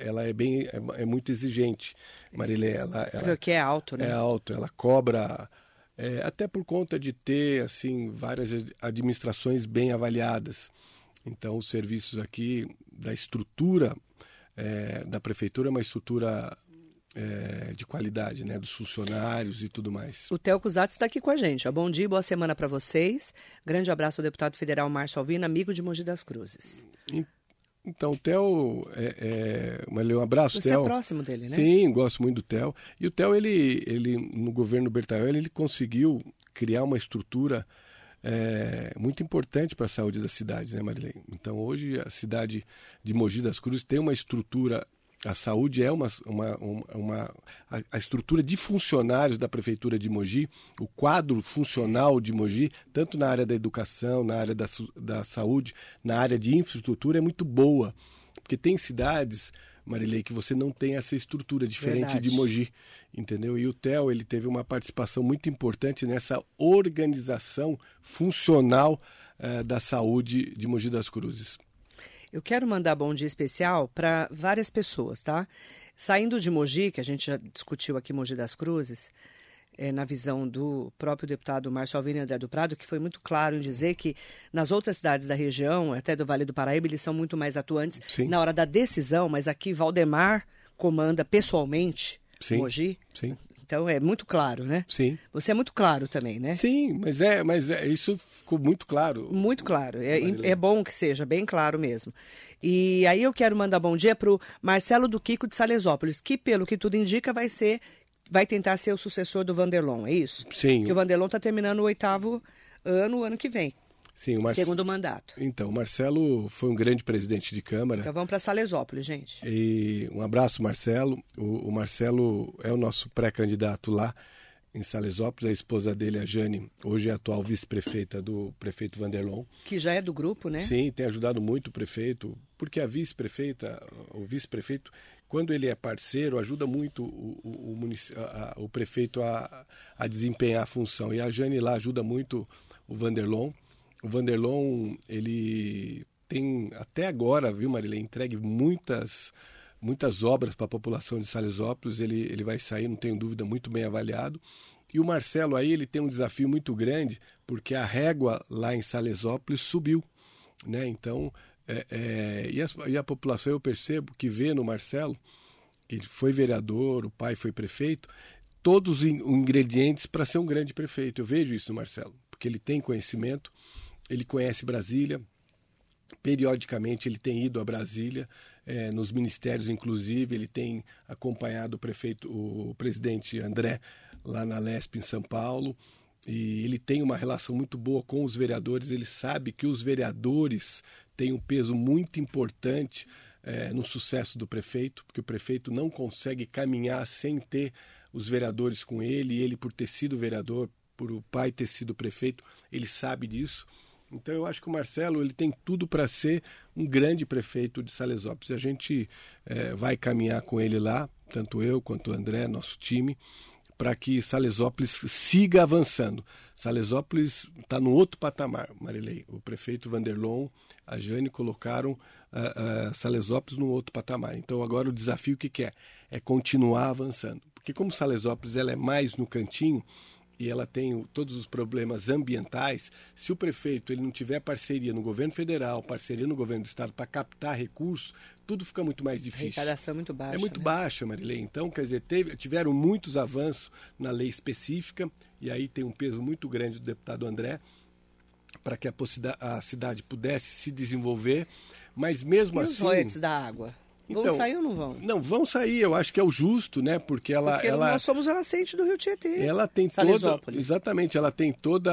é muito exigente. Marilei, ela que é alto, né? É alto, ela cobra, até por conta de ter assim várias administrações bem avaliadas. Então, os serviços aqui da estrutura da prefeitura é uma estrutura de qualidade, né, dos funcionários e tudo mais. O Theo Cusatz está aqui com a gente. Bom dia, boa semana para vocês. Grande abraço ao deputado federal Márcio Alvino, amigo de Mogi das Cruzes. Então, o Theo, um abraço, Você Theo. é próximo dele, né? Sim, gosto muito do Theo. E o Theo, ele no governo Bertaioli, ele conseguiu criar uma estrutura muito importante para a saúde da cidade, né, Marilei? Então, hoje, a cidade de Mogi das Cruzes tem uma estrutura. A saúde é a estrutura de funcionários da Prefeitura de Mogi, o quadro funcional de Mogi, tanto na área da educação, na área da saúde, na área de infraestrutura, é muito boa. Porque tem cidades, Marilei, que você não tem essa estrutura diferente de Mogi, entendeu? E o Theo, ele teve uma participação muito importante nessa organização funcional da saúde de Mogi das Cruzes. Eu quero mandar bom dia especial para várias pessoas, tá? Saindo de Mogi, que a gente já discutiu aqui Mogi das Cruzes, na visão do próprio deputado Márcio Alvino e André do Prado, que foi muito claro em dizer que nas outras cidades da região, até do Vale do Paraíba, eles são muito mais atuantes na hora da decisão, mas aqui Valdemar comanda pessoalmente Mogi. Sim. Então é muito claro, né? Sim. Você é muito claro também, né? Sim, mas isso ficou muito claro. Muito claro. É bom que seja bem claro mesmo. E aí eu quero mandar bom dia para o Marcelo do Kiko de Salesópolis, que pelo que tudo indica vai tentar ser o sucessor do Vanderlon, é isso? Sim. Porque o Vanderlon está terminando o 8º ano que vem. Sim, segundo mandato. Então, o Marcelo foi um grande presidente de Câmara. Então vamos para Salesópolis, gente. E um abraço, Marcelo. O Marcelo é o nosso pré-candidato lá. em Salesópolis. A esposa dele, a Jane, hoje é a atual vice-prefeita do prefeito Vanderlon. Que já é do grupo, né? Sim, tem ajudado muito o prefeito, porque a vice-prefeita, o vice-prefeito, quando ele é parceiro, ajuda muito o prefeito a desempenhar a função. E a Jane lá ajuda muito o Vanderlon. O Vanderlon, ele tem, até agora, viu, Marilei, entregue muitas obras para a população de Salesópolis. Ele vai sair, não tenho dúvida, muito bem avaliado. E o Marcelo aí, ele tem um desafio muito grande, porque a régua lá em Salesópolis subiu, né? Então, e a população, eu percebo que vê no Marcelo, que ele foi vereador, o pai foi prefeito, todos os ingredientes para ser um grande prefeito. Eu vejo isso no Marcelo, porque ele tem conhecimento, ele conhece Brasília, periodicamente ele tem ido a Brasília, nos ministérios inclusive, ele tem acompanhado o presidente André lá na Lesp em São Paulo, e ele tem uma relação muito boa com os vereadores. Ele sabe que os vereadores têm um peso muito importante no sucesso do prefeito, porque o prefeito não consegue caminhar sem ter os vereadores com ele, e ele, por ter sido vereador, por o pai ter sido prefeito, ele sabe disso. Então eu acho que o Marcelo, ele tem tudo para ser um grande prefeito de Salesópolis. A gente vai caminhar com ele lá, tanto eu quanto o André, nosso time, para que Salesópolis siga avançando. Salesópolis está no outro patamar, Marilei. O prefeito Vanderlon, a Jane colocaram Salesópolis no outro patamar. Então agora o desafio que é continuar avançando. Porque como Salesópolis ela é mais no cantinho, e ela tem todos os problemas ambientais, se o prefeito ele não tiver parceria no governo federal, parceria no governo do estado para captar recursos, tudo fica muito mais difícil. A arrecadação é muito baixa. É muito né? baixa, Marilei. Então, quer dizer, tiveram muitos avanços na lei específica, e aí tem um peso muito grande do deputado André, para que a cidade pudesse se desenvolver, mas mesmo assim... E os royalties da água? Vão sair ou não vão? Não, vão sair, eu acho que é o justo, né? Porque nós somos a nascente do Rio Tietê. Ela tem exatamente, ela tem toda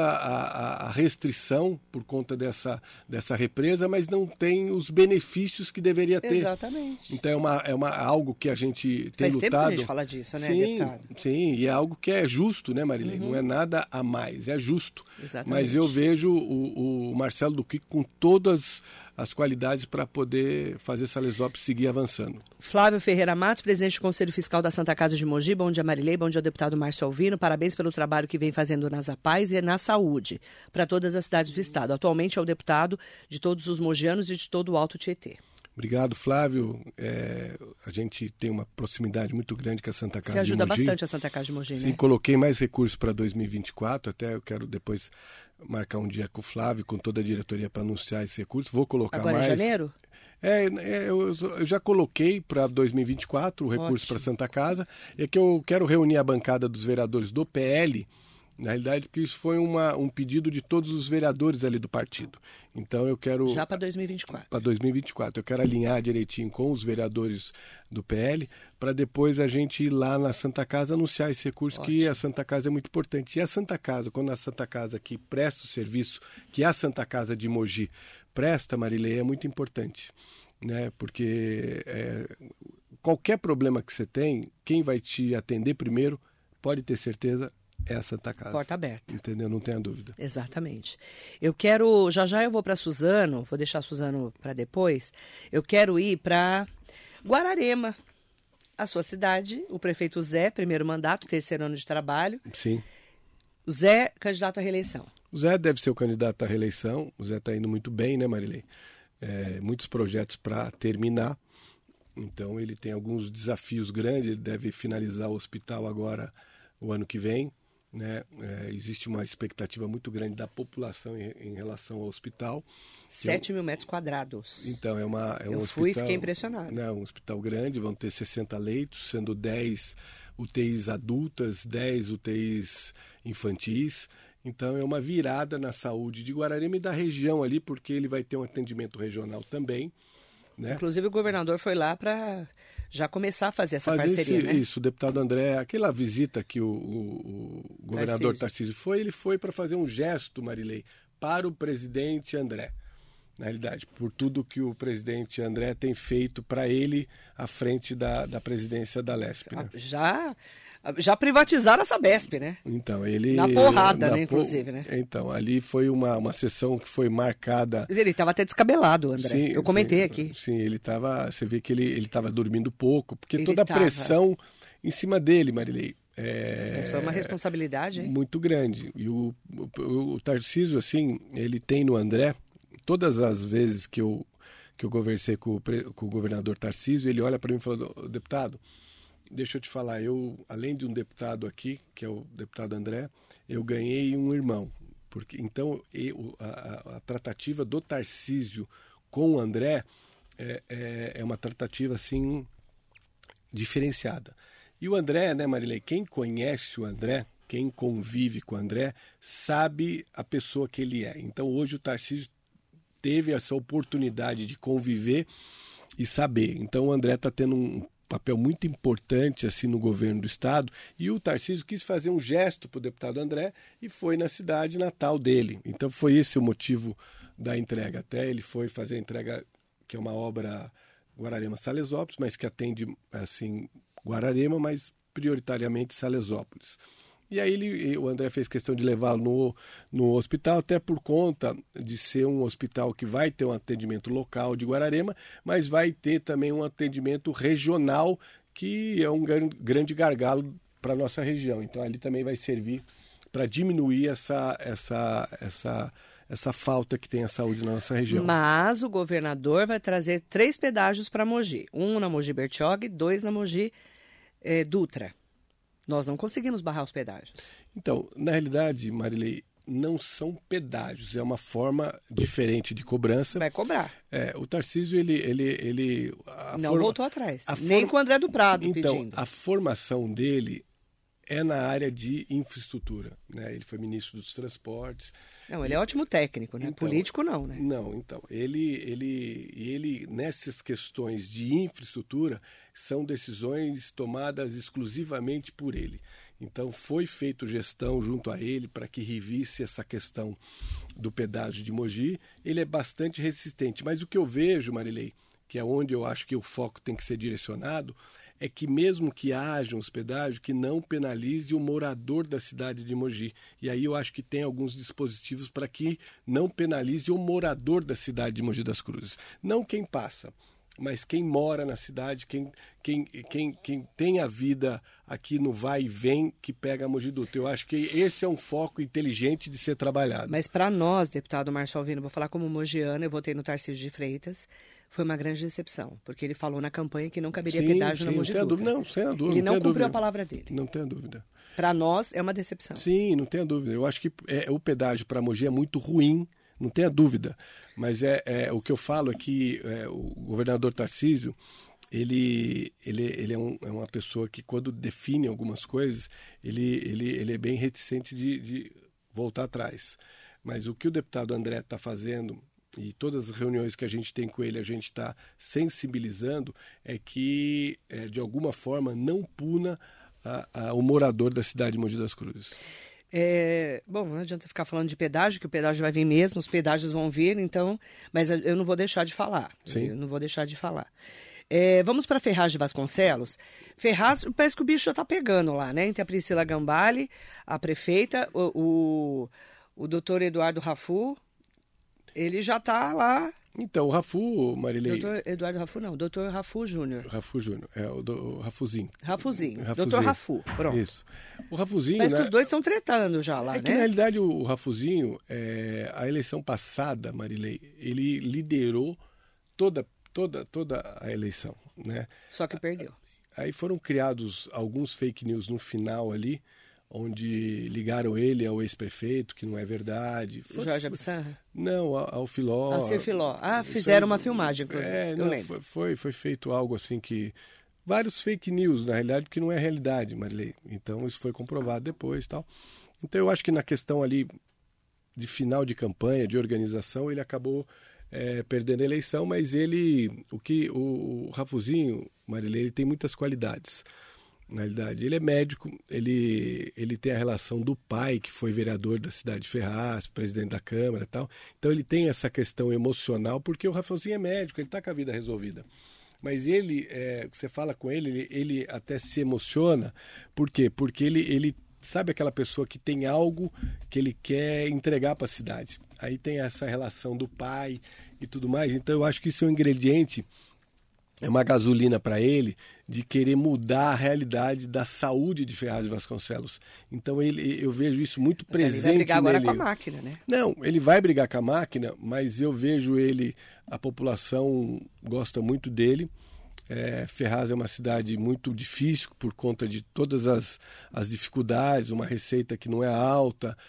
a restrição por conta dessa represa, mas não tem os benefícios que deveria ter. Exatamente. Então algo que a gente tem lutado. Faz tempo que a gente fala disso, né, deputado? Sim, e é algo que é justo, né, Marilene? Não é nada a mais, é justo. Exatamente. Mas eu vejo o Marcelo Duque com todas as qualidades para poder fazer Salesópolis seguir avançando. Flávio Ferreira Matos, presidente do Conselho Fiscal da Santa Casa de Mogi. Bom dia, Marilei. Bom dia, deputado Márcio Alvino. Parabéns pelo trabalho que vem fazendo nas APAES e na saúde para todas as cidades do estado. Atualmente é o deputado de todos os mogianos e de todo o Alto Tietê. Obrigado, Flávio. A gente tem uma proximidade muito grande com a Santa Casa de Mogi. Você ajuda bastante a Santa Casa de Mogi, né? Sim, coloquei mais recursos para 2024, até eu quero depois marcar um dia com o Flávio, com toda a diretoria para anunciar esse recurso. Vou colocar agora mais. Agora em janeiro? Eu já coloquei para 2024 o recurso para Santa Casa. É que eu quero reunir a bancada dos vereadores do PL, na realidade, porque isso foi um pedido de todos os vereadores ali do partido. Então eu quero... Já para 2024. Para 2024. Eu quero alinhar direitinho com os vereadores do PL, para depois a gente ir lá na Santa Casa anunciar esse recurso. Ótimo. Que a Santa Casa é muito importante. E a Santa Casa, quando a Santa Casa que presta o serviço, que a Santa Casa de Mogi presta, Marilei, é muito importante. Né? Porque qualquer problema que você tem, quem vai te atender primeiro, pode ter certeza, é a Santa Casa. Porta aberta. Entendeu? Não tenha dúvida. Exatamente. Eu quero, já eu vou para Suzano, vou deixar Suzano para depois, eu quero ir para Guararema, a sua cidade, o prefeito Zé, primeiro mandato, terceiro ano de trabalho. Sim. O Zé, candidato à reeleição. O Zé deve ser o candidato à reeleição, o Zé está indo muito bem, né, Marilei? Muitos projetos para terminar, então ele tem alguns desafios grandes, ele deve finalizar o hospital agora o ano que vem. Né? Existe uma expectativa muito grande da população em relação ao hospital. 7 mil metros quadrados. Então, eu um fui hospital, e fiquei impressionado. Né, um hospital grande, vão ter 60 leitos, sendo 10 UTIs adultas, 10 UTIs infantis. Então, é uma virada na saúde de Guararema e da região ali, porque ele vai ter um atendimento regional também. Né? Inclusive o governador foi lá para já começar a fazer essa parceria, né? Isso, o deputado André, aquela visita que o governador Tarcísio foi, ele foi para fazer um gesto, Marilei, para o presidente André. Na realidade, por tudo que o presidente André tem feito para ele à frente da presidência da Lesp. Né? Já Já privatizaram a Sabesp, né? Então, ele... Na porrada, né, inclusive, né? Então, ali foi uma sessão que foi marcada... Ele estava até descabelado, André. Sim, eu comentei sim, aqui. Sim, ele estava... Você vê que ele estava dormindo pouco, porque toda a pressão em cima dele, Marilei... Mas foi uma responsabilidade, hein? Muito grande. E o Tarcísio, assim, ele tem no André, todas as vezes que eu conversei com o governador Tarcísio, ele olha para mim e fala, deputado, deixa eu te falar, além de um deputado aqui, que é o deputado André, eu ganhei um irmão. Então, a tratativa do Tarcísio com o André é uma tratativa, assim, diferenciada. E o André, né, Marilei, quem conhece o André, quem convive com o André, sabe a pessoa que ele é. Então, hoje o Tarcísio teve essa oportunidade de conviver e saber. Então, o André está tendo um papel muito importante assim no governo do estado, e o Tarcísio quis fazer um gesto para o deputado André e foi na cidade natal dele. Então foi esse o motivo da entrega. Até ele foi fazer a entrega, que é uma obra Guararema-Salesópolis, mas que atende assim Guararema, mas prioritariamente Salesópolis. E aí o André fez questão de levá-lo no hospital, até por conta de ser um hospital que vai ter um atendimento local de Guararema, mas vai ter também um atendimento regional, que é um grande gargalo para a nossa região. Então ali também vai servir para diminuir essa falta que tem a saúde na nossa região. Mas o governador vai trazer 3 pedágios para Mogi. 1 na Mogi Bertioga, 2 na Mogi Dutra. Nós não conseguimos barrar os pedágios. Então, na realidade, Marilei, não são pedágios, é uma forma diferente de cobrança. Vai cobrar. O Tarcísio, ele não voltou atrás, nem com o André do Prado pedindo. Então, a formação dele é na área de infraestrutura, né? Ele foi ministro dos transportes. Não, ele é ótimo técnico, né? Então, político não, né? Não, então, ele nessas questões de infraestrutura são decisões tomadas exclusivamente por ele. Então foi feita gestão junto a ele para que revisse essa questão do pedágio de Mogi. Ele é bastante resistente, mas o que eu vejo, Marilei, que é onde eu acho que o foco tem que ser direcionado, é que mesmo que haja um pedágio, que não penalize o morador da cidade de Mogi. E aí eu acho que tem alguns dispositivos para que não penalize o morador da cidade de Mogi das Cruzes. Não quem passa, mas quem mora na cidade, quem tem a vida aqui no vai e vem, que pega a Mogi Dutra. Eu acho que esse é um foco inteligente de ser trabalhado. Mas para nós, deputado Márcio Alvino, vou falar como mogiana, eu votei no Tarcísio de Freitas, foi uma grande decepção, porque ele falou na campanha que não caberia pedágio na Mogi Dutra. Não, sem a dúvida. Ele não cumpriu a palavra dele. Não tenha dúvida. Para nós é uma decepção. Sim, não tenha dúvida. Eu acho que o pedágio para Mogi é muito ruim, não tenha dúvida. Mas o que eu falo é que o governador Tarcísio, ele é uma pessoa que, quando define algumas coisas, ele é bem reticente de voltar atrás. Mas o que o deputado André está fazendo, e todas as reuniões que a gente tem com ele, a gente está sensibilizando, é que, de alguma forma, não puna o morador da cidade de Mogi das Cruzes. Bom, não adianta ficar falando de pedágio, que o pedágio vai vir mesmo, os pedágios vão vir, então, mas eu não vou deixar de falar. Sim. Eu não vou deixar de falar. Vamos para Ferraz de Vasconcelos. Ferraz, parece que o bicho já está pegando lá, né? Entre a Priscila Gambale, a prefeita, o doutor Eduardo Rafu, ele já está lá. Então, o Rafu, Marilei... Doutor Eduardo Rafu, não. Doutor Rafu Júnior. Rafu Júnior, o Rafuzinho. Rafuzinho. Doutor Rafu, pronto. Isso. O Rafuzinho, parece que os dois estão tretando já lá, né? Que, na realidade, o Rafuzinho, a eleição passada, Marilei, ele liderou toda a eleição, né? Só que perdeu. Aí foram criados alguns fake news no final ali, onde ligaram ele ao ex-prefeito, que não é verdade. Jorge Absanra? Não, ao Filó. Alcir Filó. Fizeram uma filmagem, inclusive. Eu lembro. Foi feito algo assim que... Vários fake news, na realidade, porque não é realidade, Marilei. Então, isso foi comprovado depois e tal. Então, eu acho que na questão ali de final de campanha, de organização, ele acabou perdendo a eleição, mas o Rafuzinho, Marilei, ele tem muitas qualidades. Na realidade, ele é médico, ele tem a relação do pai, que foi vereador da cidade de Ferraz, presidente da Câmara e tal. Então ele tem essa questão emocional, porque o Rafaelzinho é médico, ele está com a vida resolvida. Mas ele, você fala com ele até se emociona. Por quê? Porque ele sabe aquela pessoa que tem algo que ele quer entregar para a cidade. Aí tem essa relação do pai e tudo mais. Então eu acho que isso é um ingrediente, é uma gasolina para ele de querer mudar a realidade da saúde de Ferraz de Vasconcelos. Então eu vejo isso muito presente nele. Ele vai brigar agora com a máquina, né? Não, ele vai brigar com a máquina, mas eu vejo ele, a população gosta muito dele. Ferraz é uma cidade muito difícil por conta de todas as dificuldades, uma receita que não é alta,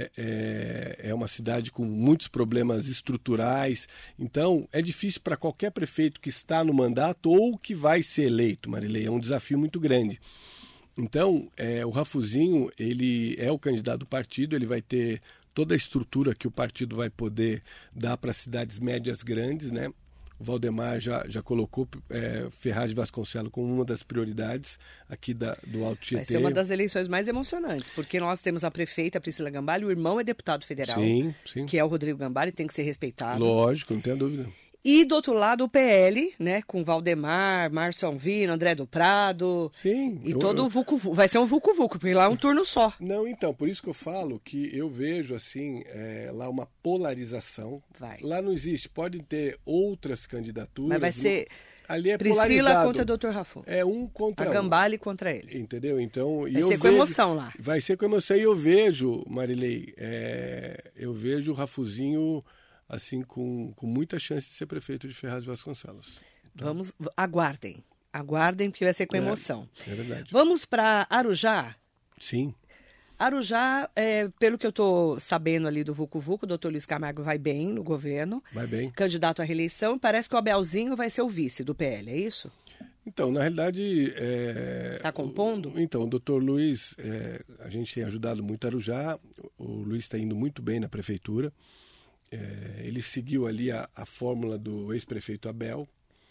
é uma cidade com muitos problemas estruturais. Então, é difícil para qualquer prefeito que está no mandato ou que vai ser eleito, Marilei. É um desafio muito grande. Então, o Rafuzinho, ele é o candidato do partido, ele vai ter toda a estrutura que o partido vai poder dar para cidades médias grandes, né? O Valdemar já colocou Ferraz de Vasconcelos como uma das prioridades aqui do Alto Tietê. Vai ser uma das eleições mais emocionantes, porque nós temos a prefeita Priscila Gambale, o irmão é deputado federal, sim. que é o Rodrigo Gambale, tem que ser respeitado. Lógico, não tenho dúvida. E do outro lado o PL, né, com Valdemar, Márcio Alvino, André do Prado. Sim. E todo o vucu-vucu. Vai ser um vucu-vucu, porque lá é um turno só. Não, então, por isso que eu falo que eu vejo, assim, lá uma polarização. Lá não existe, podem ter outras candidaturas. Mas vai ser ali é Priscila polarizado. contra o Dr. Rafon. É um contra um. A Gambale contra ele. Entendeu? Então, vai ser com emoção lá. Vai ser com emoção. E eu vejo, Marilei, eu vejo o Rafuzinho assim, com muita chance de ser prefeito de Ferraz de Vasconcelos. Aguardem, porque vai ser com emoção. É verdade. Vamos para Arujá? Sim. Arujá, pelo que eu estou sabendo ali do VucuVucu, o doutor Luiz Camargo vai bem no governo. Vai bem. Candidato à reeleição, parece que o Abelzinho vai ser o vice do PL, é isso? Então, na realidade... Está compondo? Então, o doutor Luiz, a gente tem ajudado muito Arujá, o Luiz está indo muito bem na prefeitura. Ele seguiu ali a fórmula do ex-prefeito Abel,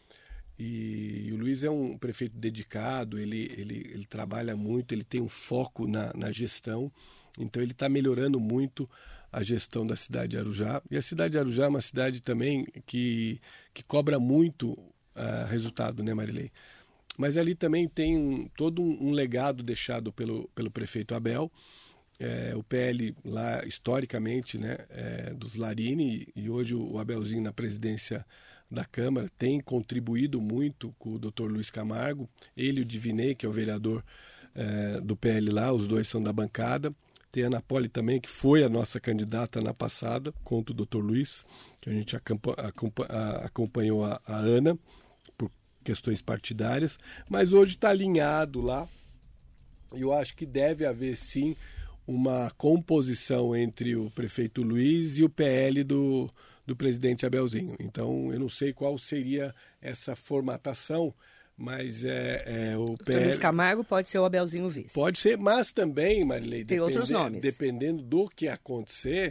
e o Luiz é um prefeito dedicado, ele trabalha muito, ele tem um foco na gestão, então ele está melhorando muito a gestão da cidade de Arujá. E a cidade de Arujá é uma cidade também que cobra muito resultado, né, Marilei? Mas ali também tem todo um legado deixado pelo prefeito Abel. O PL lá, historicamente, né, dos Larini, e hoje o Abelzinho na presidência da Câmara, tem contribuído muito com o Dr. Luiz Camargo, ele e o Divinei, que é o vereador do PL lá, os dois são da bancada. Tem a Ana Poli também, que foi a nossa candidata na passada, contra o Dr. Luiz, que a gente acompanhou a Ana, por questões partidárias, mas hoje está alinhado lá, e eu acho que deve haver, sim, uma composição entre o prefeito Luiz e o PL do presidente Abelzinho. Então, eu não sei qual seria essa formatação, mas o PL... Luiz Camargo pode ser o Abelzinho vice. Pode ser, mas também, Marilei, tem outros nomes. Dependendo do que acontecer,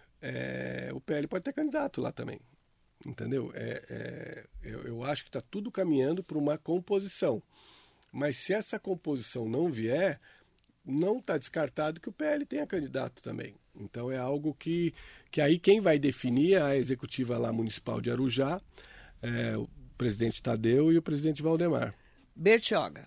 o PL pode ter candidato lá também. Entendeu? Eu acho que está tudo caminhando para uma composição. Mas se essa composição não vier, não está descartado que o PL tenha candidato também. Então é algo que aí quem vai definir é a executiva lá municipal de Arujá, o presidente Tadeu e o presidente Valdemar. Bertioga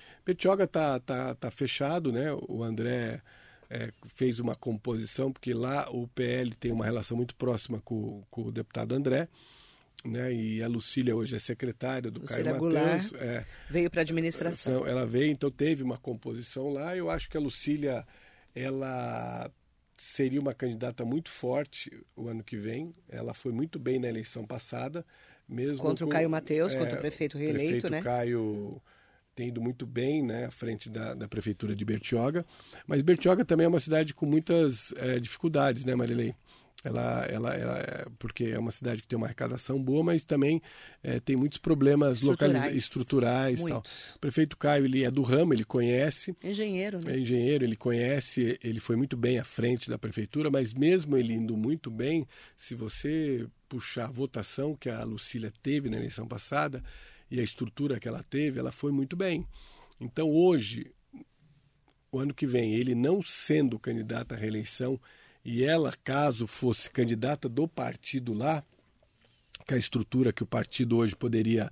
tá fechado, né? O André fez uma composição, porque lá o PL tem uma relação muito próxima com o deputado André, né? E a Lucília hoje é secretária do Caio Mateus. Veio para a administração. Ela veio, então teve uma composição lá. Eu acho que a Lucília, ela seria uma candidata muito forte o ano que vem. Ela foi muito bem na eleição passada, mesmo contra o Caio Mateus, contra o prefeito reeleito, né? O Caio tem ido muito bem, né, à frente da prefeitura de Bertioga. Mas Bertioga também é uma cidade com muitas dificuldades, né, Marilei? Ela porque é uma cidade que tem uma arrecadação boa, mas também tem muitos problemas estruturais. Tal. O prefeito Caio, ele é do ramo, ele conhece. Engenheiro, né? É engenheiro, ele conhece, ele foi muito bem à frente da prefeitura, mas mesmo ele indo muito bem, se você puxar a votação que a Lucília teve na eleição passada e a estrutura que ela teve, ela foi muito bem. Então hoje, o ano que vem, ele não sendo candidato à reeleição, e ela, caso fosse candidata do partido lá, que a estrutura que o partido hoje poderia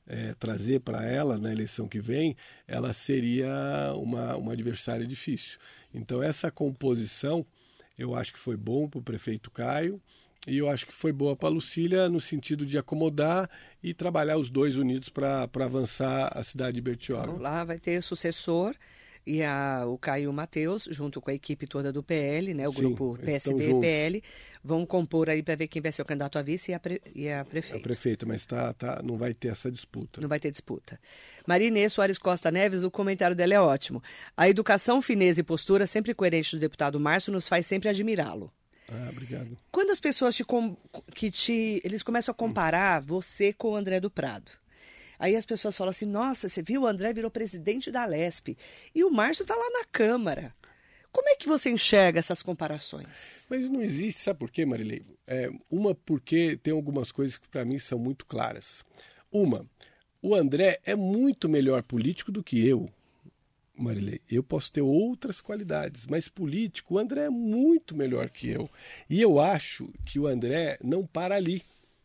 trazer para ela na eleição que vem, ela seria uma adversária difícil. Então essa composição eu acho que foi bom para o prefeito Caio e eu acho que foi boa para a Lucília no sentido de acomodar e trabalhar os dois unidos para avançar a cidade de Bertioga. Então, lá vai ter sucessor e o Caio Mateus, junto com a equipe toda do PL, né, o Sim, grupo PSD e PL, vão compor aí para ver quem vai ser o candidato a vice e a prefeita. A prefeita, mas não vai ter essa disputa. Não vai ter disputa. Maria Inês Soares Costa Neves, o comentário dela é ótimo. A educação, fineza e postura sempre coerente do deputado Márcio nos faz sempre admirá-lo. Obrigado. Quando as pessoas eles começam a comparar você com o André do Prado, aí as pessoas falam assim, nossa, você viu, o André virou presidente da Alesp e o Márcio está lá na Câmara. Como é que você enxerga essas comparações? Mas não existe, sabe por quê, Marilei? Porque tem algumas coisas que para mim são muito claras. O André é muito melhor político do que eu, Marilei. Eu posso ter outras qualidades, mas político, o André é muito melhor que eu. E eu acho que o André não para ali.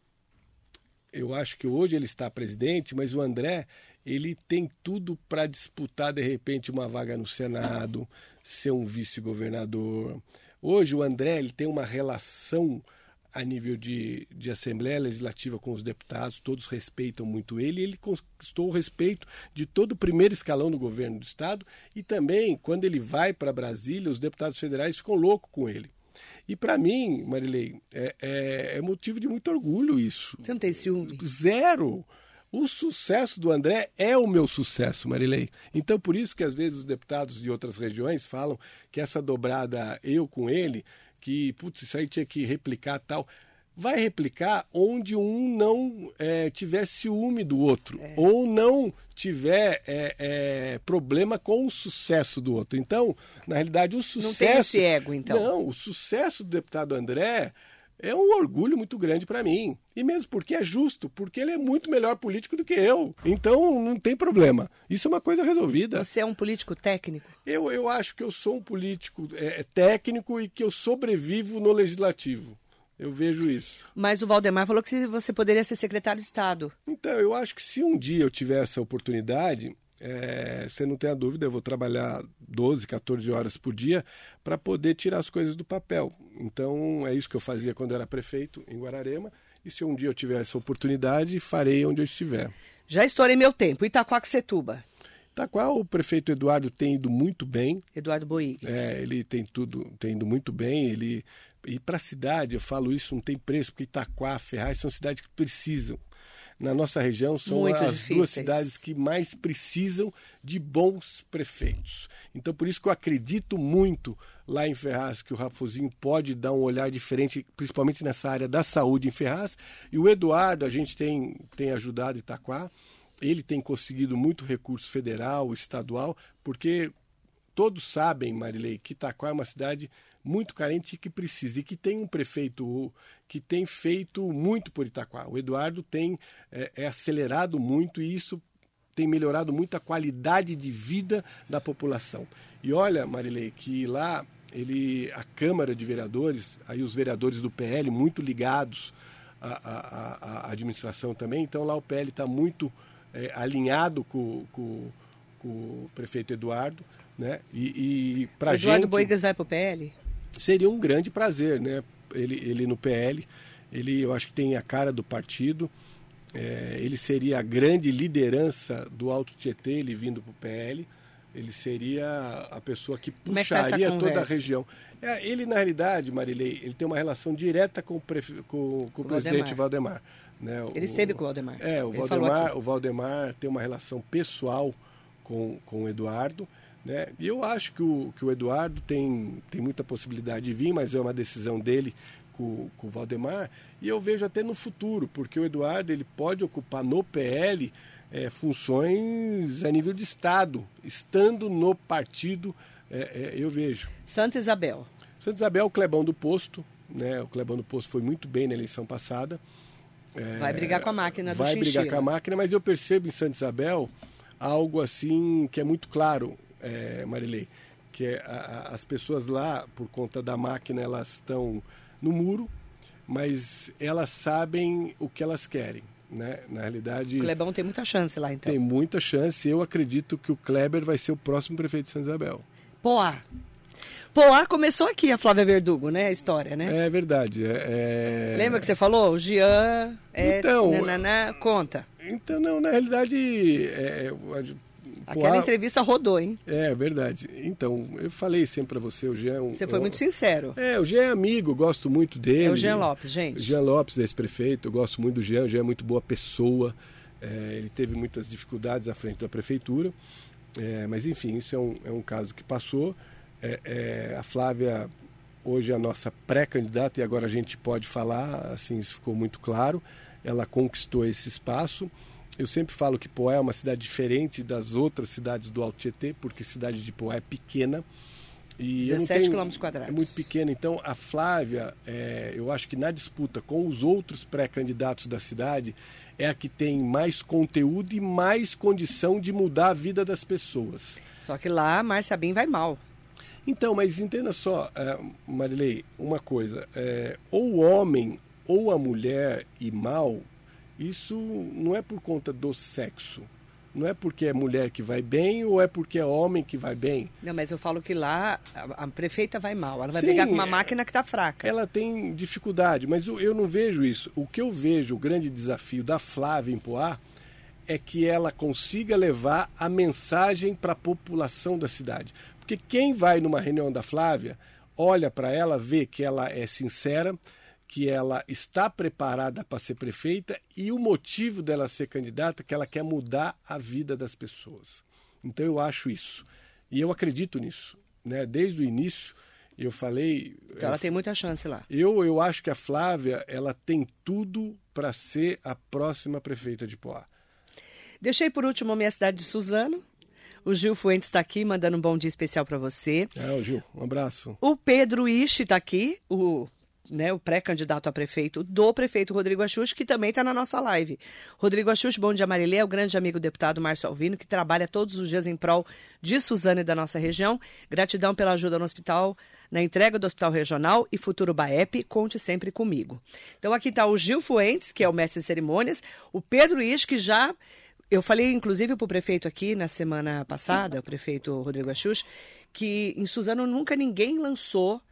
Eu acho que hoje ele está presidente, mas o André, ele tem tudo para disputar, de repente, uma vaga no Senado, ser um vice-governador. Hoje o André ele tem uma relação a nível de Assembleia Legislativa com os deputados, todos respeitam muito ele, e ele conquistou o respeito de todo o primeiro escalão do governo do Estado, e também, quando ele vai para Brasília, os deputados federais ficam loucos com ele. E para mim, Marilei, é motivo de muito orgulho isso. Você não tem ciúme? Zero! O sucesso do André é o meu sucesso, Marilei. Então, por isso que às vezes os deputados de outras regiões falam que essa dobrada eu com ele, que, putz, isso aí tinha que replicar tal. Vai replicar onde um não tiver ciúme do outro, ou não tiver problema com o sucesso do outro. Então, na realidade, o sucesso... Não tem esse ego, então. Não, o sucesso do deputado André é um orgulho muito grande para mim. E mesmo porque é justo, porque ele é muito melhor político do que eu. Então, não tem problema. Isso é uma coisa resolvida. Você é um político técnico? Eu acho que eu sou um político técnico e que eu sobrevivo no legislativo. Eu vejo isso. Mas o Valdemar falou que você poderia ser secretário de Estado. Então, eu acho que se um dia eu tiver essa oportunidade, você não tem a dúvida, eu vou trabalhar 12, 14 horas por dia para poder tirar as coisas do papel. Então, é isso que eu fazia quando eu era prefeito em Guararema. E se um dia eu tiver essa oportunidade, farei onde eu estiver. Já estourei meu tempo. Itaquaquecetuba. Itaquá, o prefeito Eduardo tem ido muito bem. Eduardo Boigues. Ele tem ido muito bem. E para a cidade, eu falo isso, não tem preço, porque Itaquá, Ferraz são cidades que precisam. Na nossa região, são muito as difíceis. Duas cidades que mais precisam de bons prefeitos. Então, por isso que eu acredito muito lá em Ferraz, que o Raposinho pode dar um olhar diferente, principalmente nessa área da saúde em Ferraz. E o Eduardo, a gente tem ajudado Itaquá. Ele tem conseguido muito recurso federal, estadual, porque todos sabem, Marilei, que Itaquá é uma cidade muito carente e que precisa, e que tem um prefeito que tem feito muito por Itaquá. O Eduardo tem acelerado muito e isso tem melhorado muito a qualidade de vida da população. E olha, Marilei, que lá a Câmara de Vereadores, aí os vereadores do PL muito ligados à administração também, então lá o PL está muito alinhado com o prefeito Eduardo, né? E pra Eduardo gente, Boigues vai pro PL? Seria um grande prazer, né? Ele no PL, eu acho que tem a cara do partido, ele seria a grande liderança do Alto Tietê, ele vindo pro PL, ele seria a pessoa que puxaria toda a região. Ele, na realidade, Marilei, ele tem uma relação direta com o presidente Valdemar. Né? Ele esteve com o Valdemar. O Valdemar tem uma relação pessoal com o Eduardo, né? E eu acho que o Eduardo tem muita possibilidade de vir, mas é uma decisão dele com o Valdemar, e eu vejo até no futuro, porque o Eduardo ele pode ocupar no PL funções a nível de Estado, estando no partido, eu vejo. Santa Isabel. Santa Isabel, o Clebão do Posto, né? O Clebão do Posto foi muito bem na eleição passada. Vai brigar com a máquina do Vai Chinchila. brigar com a máquina, mas eu percebo em Santa Isabel algo assim que é muito claro, Marilei, que as pessoas lá, por conta da máquina, elas estão no muro, mas elas sabem o que elas querem. né? Na realidade... O Clebão tem muita chance lá, então. Tem muita chance. Eu acredito que o Kleber vai ser o próximo prefeito de Santa Isabel. Poá começou aqui, a Flávia Verdugo, né? A história, né? É verdade. Lembra que você falou? O Jean... Então... Conta. Então, não, na realidade... Aquela entrevista rodou, hein? É verdade. Então, eu falei sempre para você, o Jean... Você foi muito sincero. O Jean é amigo, gosto muito dele. É o Jean Lopes, gente. Jean Lopes, ex-prefeito, eu gosto muito do Jean. O Jean é muito boa pessoa. Ele teve muitas dificuldades à frente da prefeitura. Mas, enfim, isso é um caso que passou. A Flávia, hoje, é a nossa pré-candidata, e agora a gente pode falar, assim, isso ficou muito claro. Ela conquistou esse espaço. Eu sempre falo que Poá é uma cidade diferente das outras cidades do Alto Tietê, porque a cidade de Poá é pequena. E 17 quilômetros quadrados. É muito pequena. Então, a Flávia, eu acho que na disputa com os outros pré-candidatos da cidade, é a que tem mais conteúdo e mais condição de mudar a vida das pessoas. Só que lá, a Márcia Bim vai mal. Então, mas entenda só, Marilei, uma coisa. Ou o homem ou a mulher ir mal, isso não é por conta do sexo. Não é porque é mulher que vai bem ou é porque é homem que vai bem. Não, mas eu falo que lá a prefeita vai mal. Ela vai brigar com uma máquina que está fraca. Ela tem dificuldade, mas eu não vejo isso. O que eu vejo, o grande desafio da Flávia em Poá, é que ela consiga levar a mensagem para a população da cidade. Porque quem vai numa reunião da Flávia, olha para ela, vê que ela é sincera, que ela está preparada para ser prefeita e o motivo dela ser candidata é que ela quer mudar a vida das pessoas. Então eu acho isso. E eu acredito nisso. Né? Desde o início eu falei... Então ela tem muita chance lá. Eu acho que a Flávia ela tem tudo para ser a próxima prefeita de Poá. Deixei por último a minha cidade de Suzano. O Gil Fuentes está aqui, mandando um bom dia especial para você. O Gil, um abraço. O Pedro Ishi está aqui, o pré-candidato a prefeito do prefeito Rodrigo Axux, que também está na nossa live. Rodrigo Axux, bom dia, Marilê, é o grande amigo deputado Márcio Alvino, que trabalha todos os dias em prol de Suzano e da nossa região. Gratidão pela ajuda no hospital, na entrega do Hospital Regional e Futuro Baep, conte sempre comigo. Então aqui está o Gil Fuentes, que é o mestre de cerimônias, o Pedro Ishi, que já... Eu falei, inclusive, para o prefeito aqui na semana passada, o prefeito Rodrigo Axux, que em Suzano nunca ninguém lançou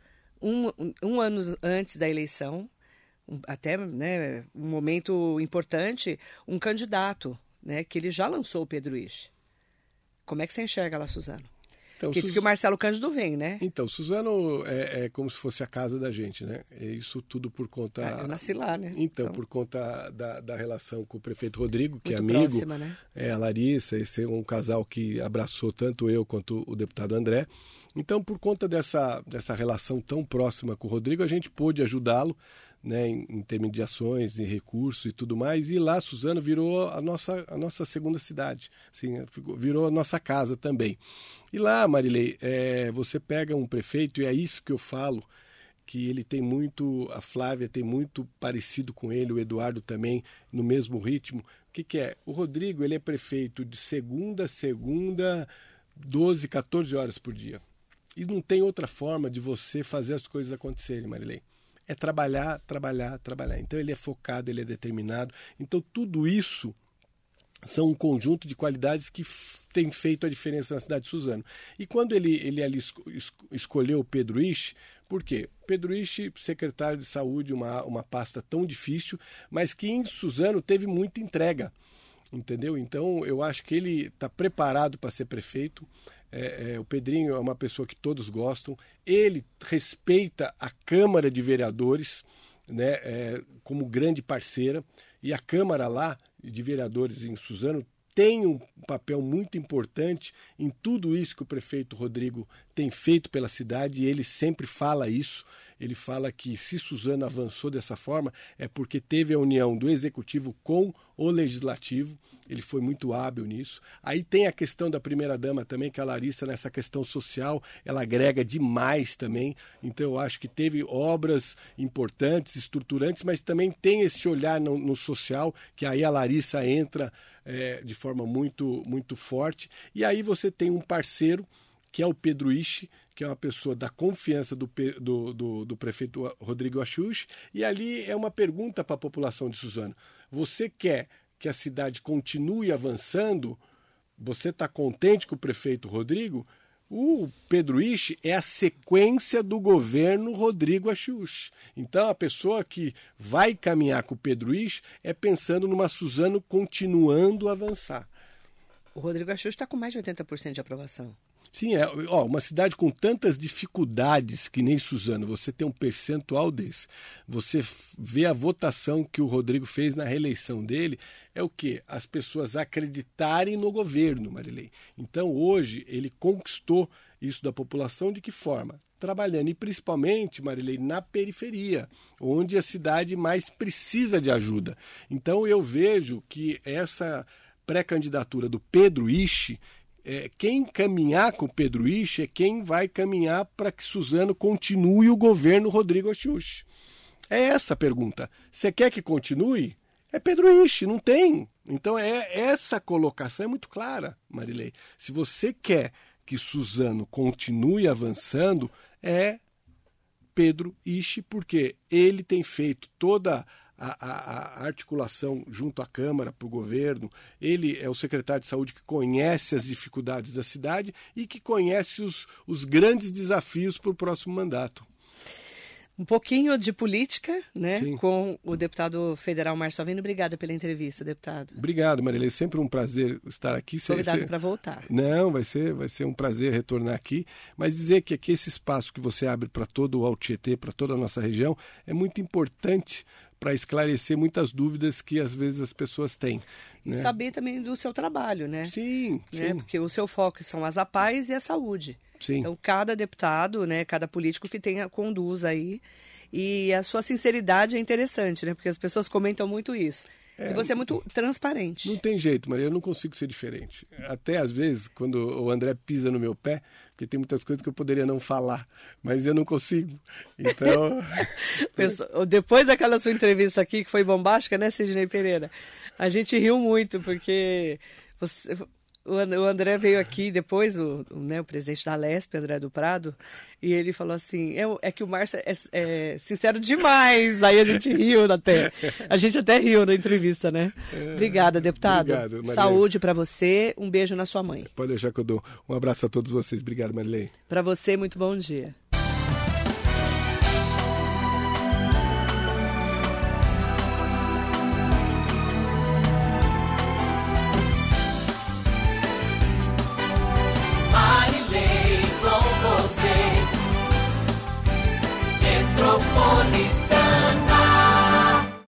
um ano antes da eleição, até um momento importante, um candidato, que ele já lançou o Pedro Ishi. Como é que você enxerga lá, Suzano? Então, que diz que o Marcelo Cândido vem, né? Então, Suzano é como se fosse a casa da gente, né? Isso tudo por conta... Eu nasci lá, né? Então, por conta da relação com o prefeito Rodrigo, que muito é amigo. Próxima, né? A Larissa, esse é um casal que abraçou tanto eu quanto o deputado André. Então, por conta dessa relação tão próxima com o Rodrigo, a gente pôde ajudá-lo, em intermediações, em recursos e tudo mais. E lá, Suzano virou a nossa segunda cidade, assim, virou a nossa casa também. E lá, Marilei, você pega um prefeito, e é isso que eu falo, que ele tem muito, a Flávia tem muito parecido com ele, o Eduardo também, no mesmo ritmo. O que é? O Rodrigo, ele é prefeito de segunda a segunda, 12, 14 horas por dia. E não tem outra forma de você fazer as coisas acontecerem, Marilei. É trabalhar, trabalhar, trabalhar. Então ele é focado, ele é determinado. Então tudo isso são um conjunto de qualidades que tem feito a diferença na cidade de Suzano. E quando ele ali escolheu o Pedro Ishi, por quê? Pedro Ishi, secretário de saúde, uma pasta tão difícil, mas que em Suzano teve muita entrega. Entendeu? Então eu acho que ele está preparado para ser prefeito. O Pedrinho é uma pessoa que todos gostam. Ele respeita a Câmara de Vereadores, como grande parceira, e a Câmara lá de Vereadores em Suzano tem um papel muito importante em tudo isso que o prefeito Rodrigo tem feito pela cidade, e ele sempre fala isso. Ele fala que se Suzano avançou dessa forma é porque teve a união do Executivo com o Legislativo. Ele foi muito hábil nisso. Aí tem a questão da primeira-dama também, que a Larissa, nessa questão social, ela agrega demais também. Então eu acho que teve obras importantes, estruturantes, mas também tem esse olhar no social, que aí a Larissa entra de forma muito, muito forte. E aí você tem um parceiro, que é o Pedro Ishi, que é uma pessoa da confiança do prefeito Rodrigo Axux, e ali é uma pergunta para a população de Suzano. você quer que a cidade continue avançando, você está contente com o prefeito Rodrigo? O Pedro Isschi é a sequência do governo Rodrigo Achiuchi. Então, a pessoa que vai caminhar com o Pedro Isschi é pensando numa Suzano continuando a avançar. O Rodrigo Achiuchi está com mais de 80% de aprovação. Sim, uma cidade com tantas dificuldades que nem Suzano, você tem um percentual desse. Você vê a votação que o Rodrigo fez na reeleição dele, é o quê? As pessoas acreditarem no governo, Marilei. Então, hoje, ele conquistou isso da população de que forma? Trabalhando, e principalmente, Marilei, na periferia, onde a cidade mais precisa de ajuda. Então, eu vejo que essa pré-candidatura do Pedro Isschi, quem caminhar com o Pedro Isschi é quem vai caminhar para que Suzano continue o governo Rodrigo Achiuchi. É essa a pergunta. Você quer que continue? É Pedro Isschi, não tem. Então essa colocação é muito clara, Marilei. Se você quer que Suzano continue avançando, é Pedro Isschi, porque ele tem feito toda a articulação junto à Câmara, para o governo. Ele é o secretário de saúde que conhece as dificuldades da cidade e que conhece os grandes desafios para o próximo mandato. Um pouquinho de política, né? Sim. Com o deputado federal Márcio Alvino. Obrigada pela entrevista, deputado. Obrigado, Marilei. Sempre um prazer estar aqui. Convidado para voltar. Não, vai ser um prazer retornar aqui. Mas dizer que aqui esse espaço que você abre para todo o Alto Tietê, para toda a nossa região, é muito importante para esclarecer muitas dúvidas que às vezes as pessoas têm. E né? saber também do seu trabalho, né? Sim, né? sim. Porque o seu foco são as APAES e a saúde. Sim. Então, cada deputado, né, cada político que conduz aí. E a sua sinceridade é interessante, né? Porque as pessoas comentam muito isso. E você é muito transparente. Não tem jeito, Maria, eu não consigo ser diferente. Até às vezes, quando o André pisa no meu pé, porque tem muitas coisas que eu poderia não falar, mas eu não consigo. Então... Depois daquela sua entrevista aqui, que foi bombástica, né, Sidney Pereira? A gente riu muito, porque o André veio aqui depois, o presidente da Alesp, André do Prado, e ele falou assim, é que o Márcio é sincero demais. Aí a gente riu até. A gente até riu na entrevista, né? Obrigada, deputado. Obrigado, Marilei. Saúde para você, um beijo na sua mãe. Pode deixar que eu dou. Um abraço a todos vocês. Obrigado, Marilei. Para você, muito bom dia. Metropolitana.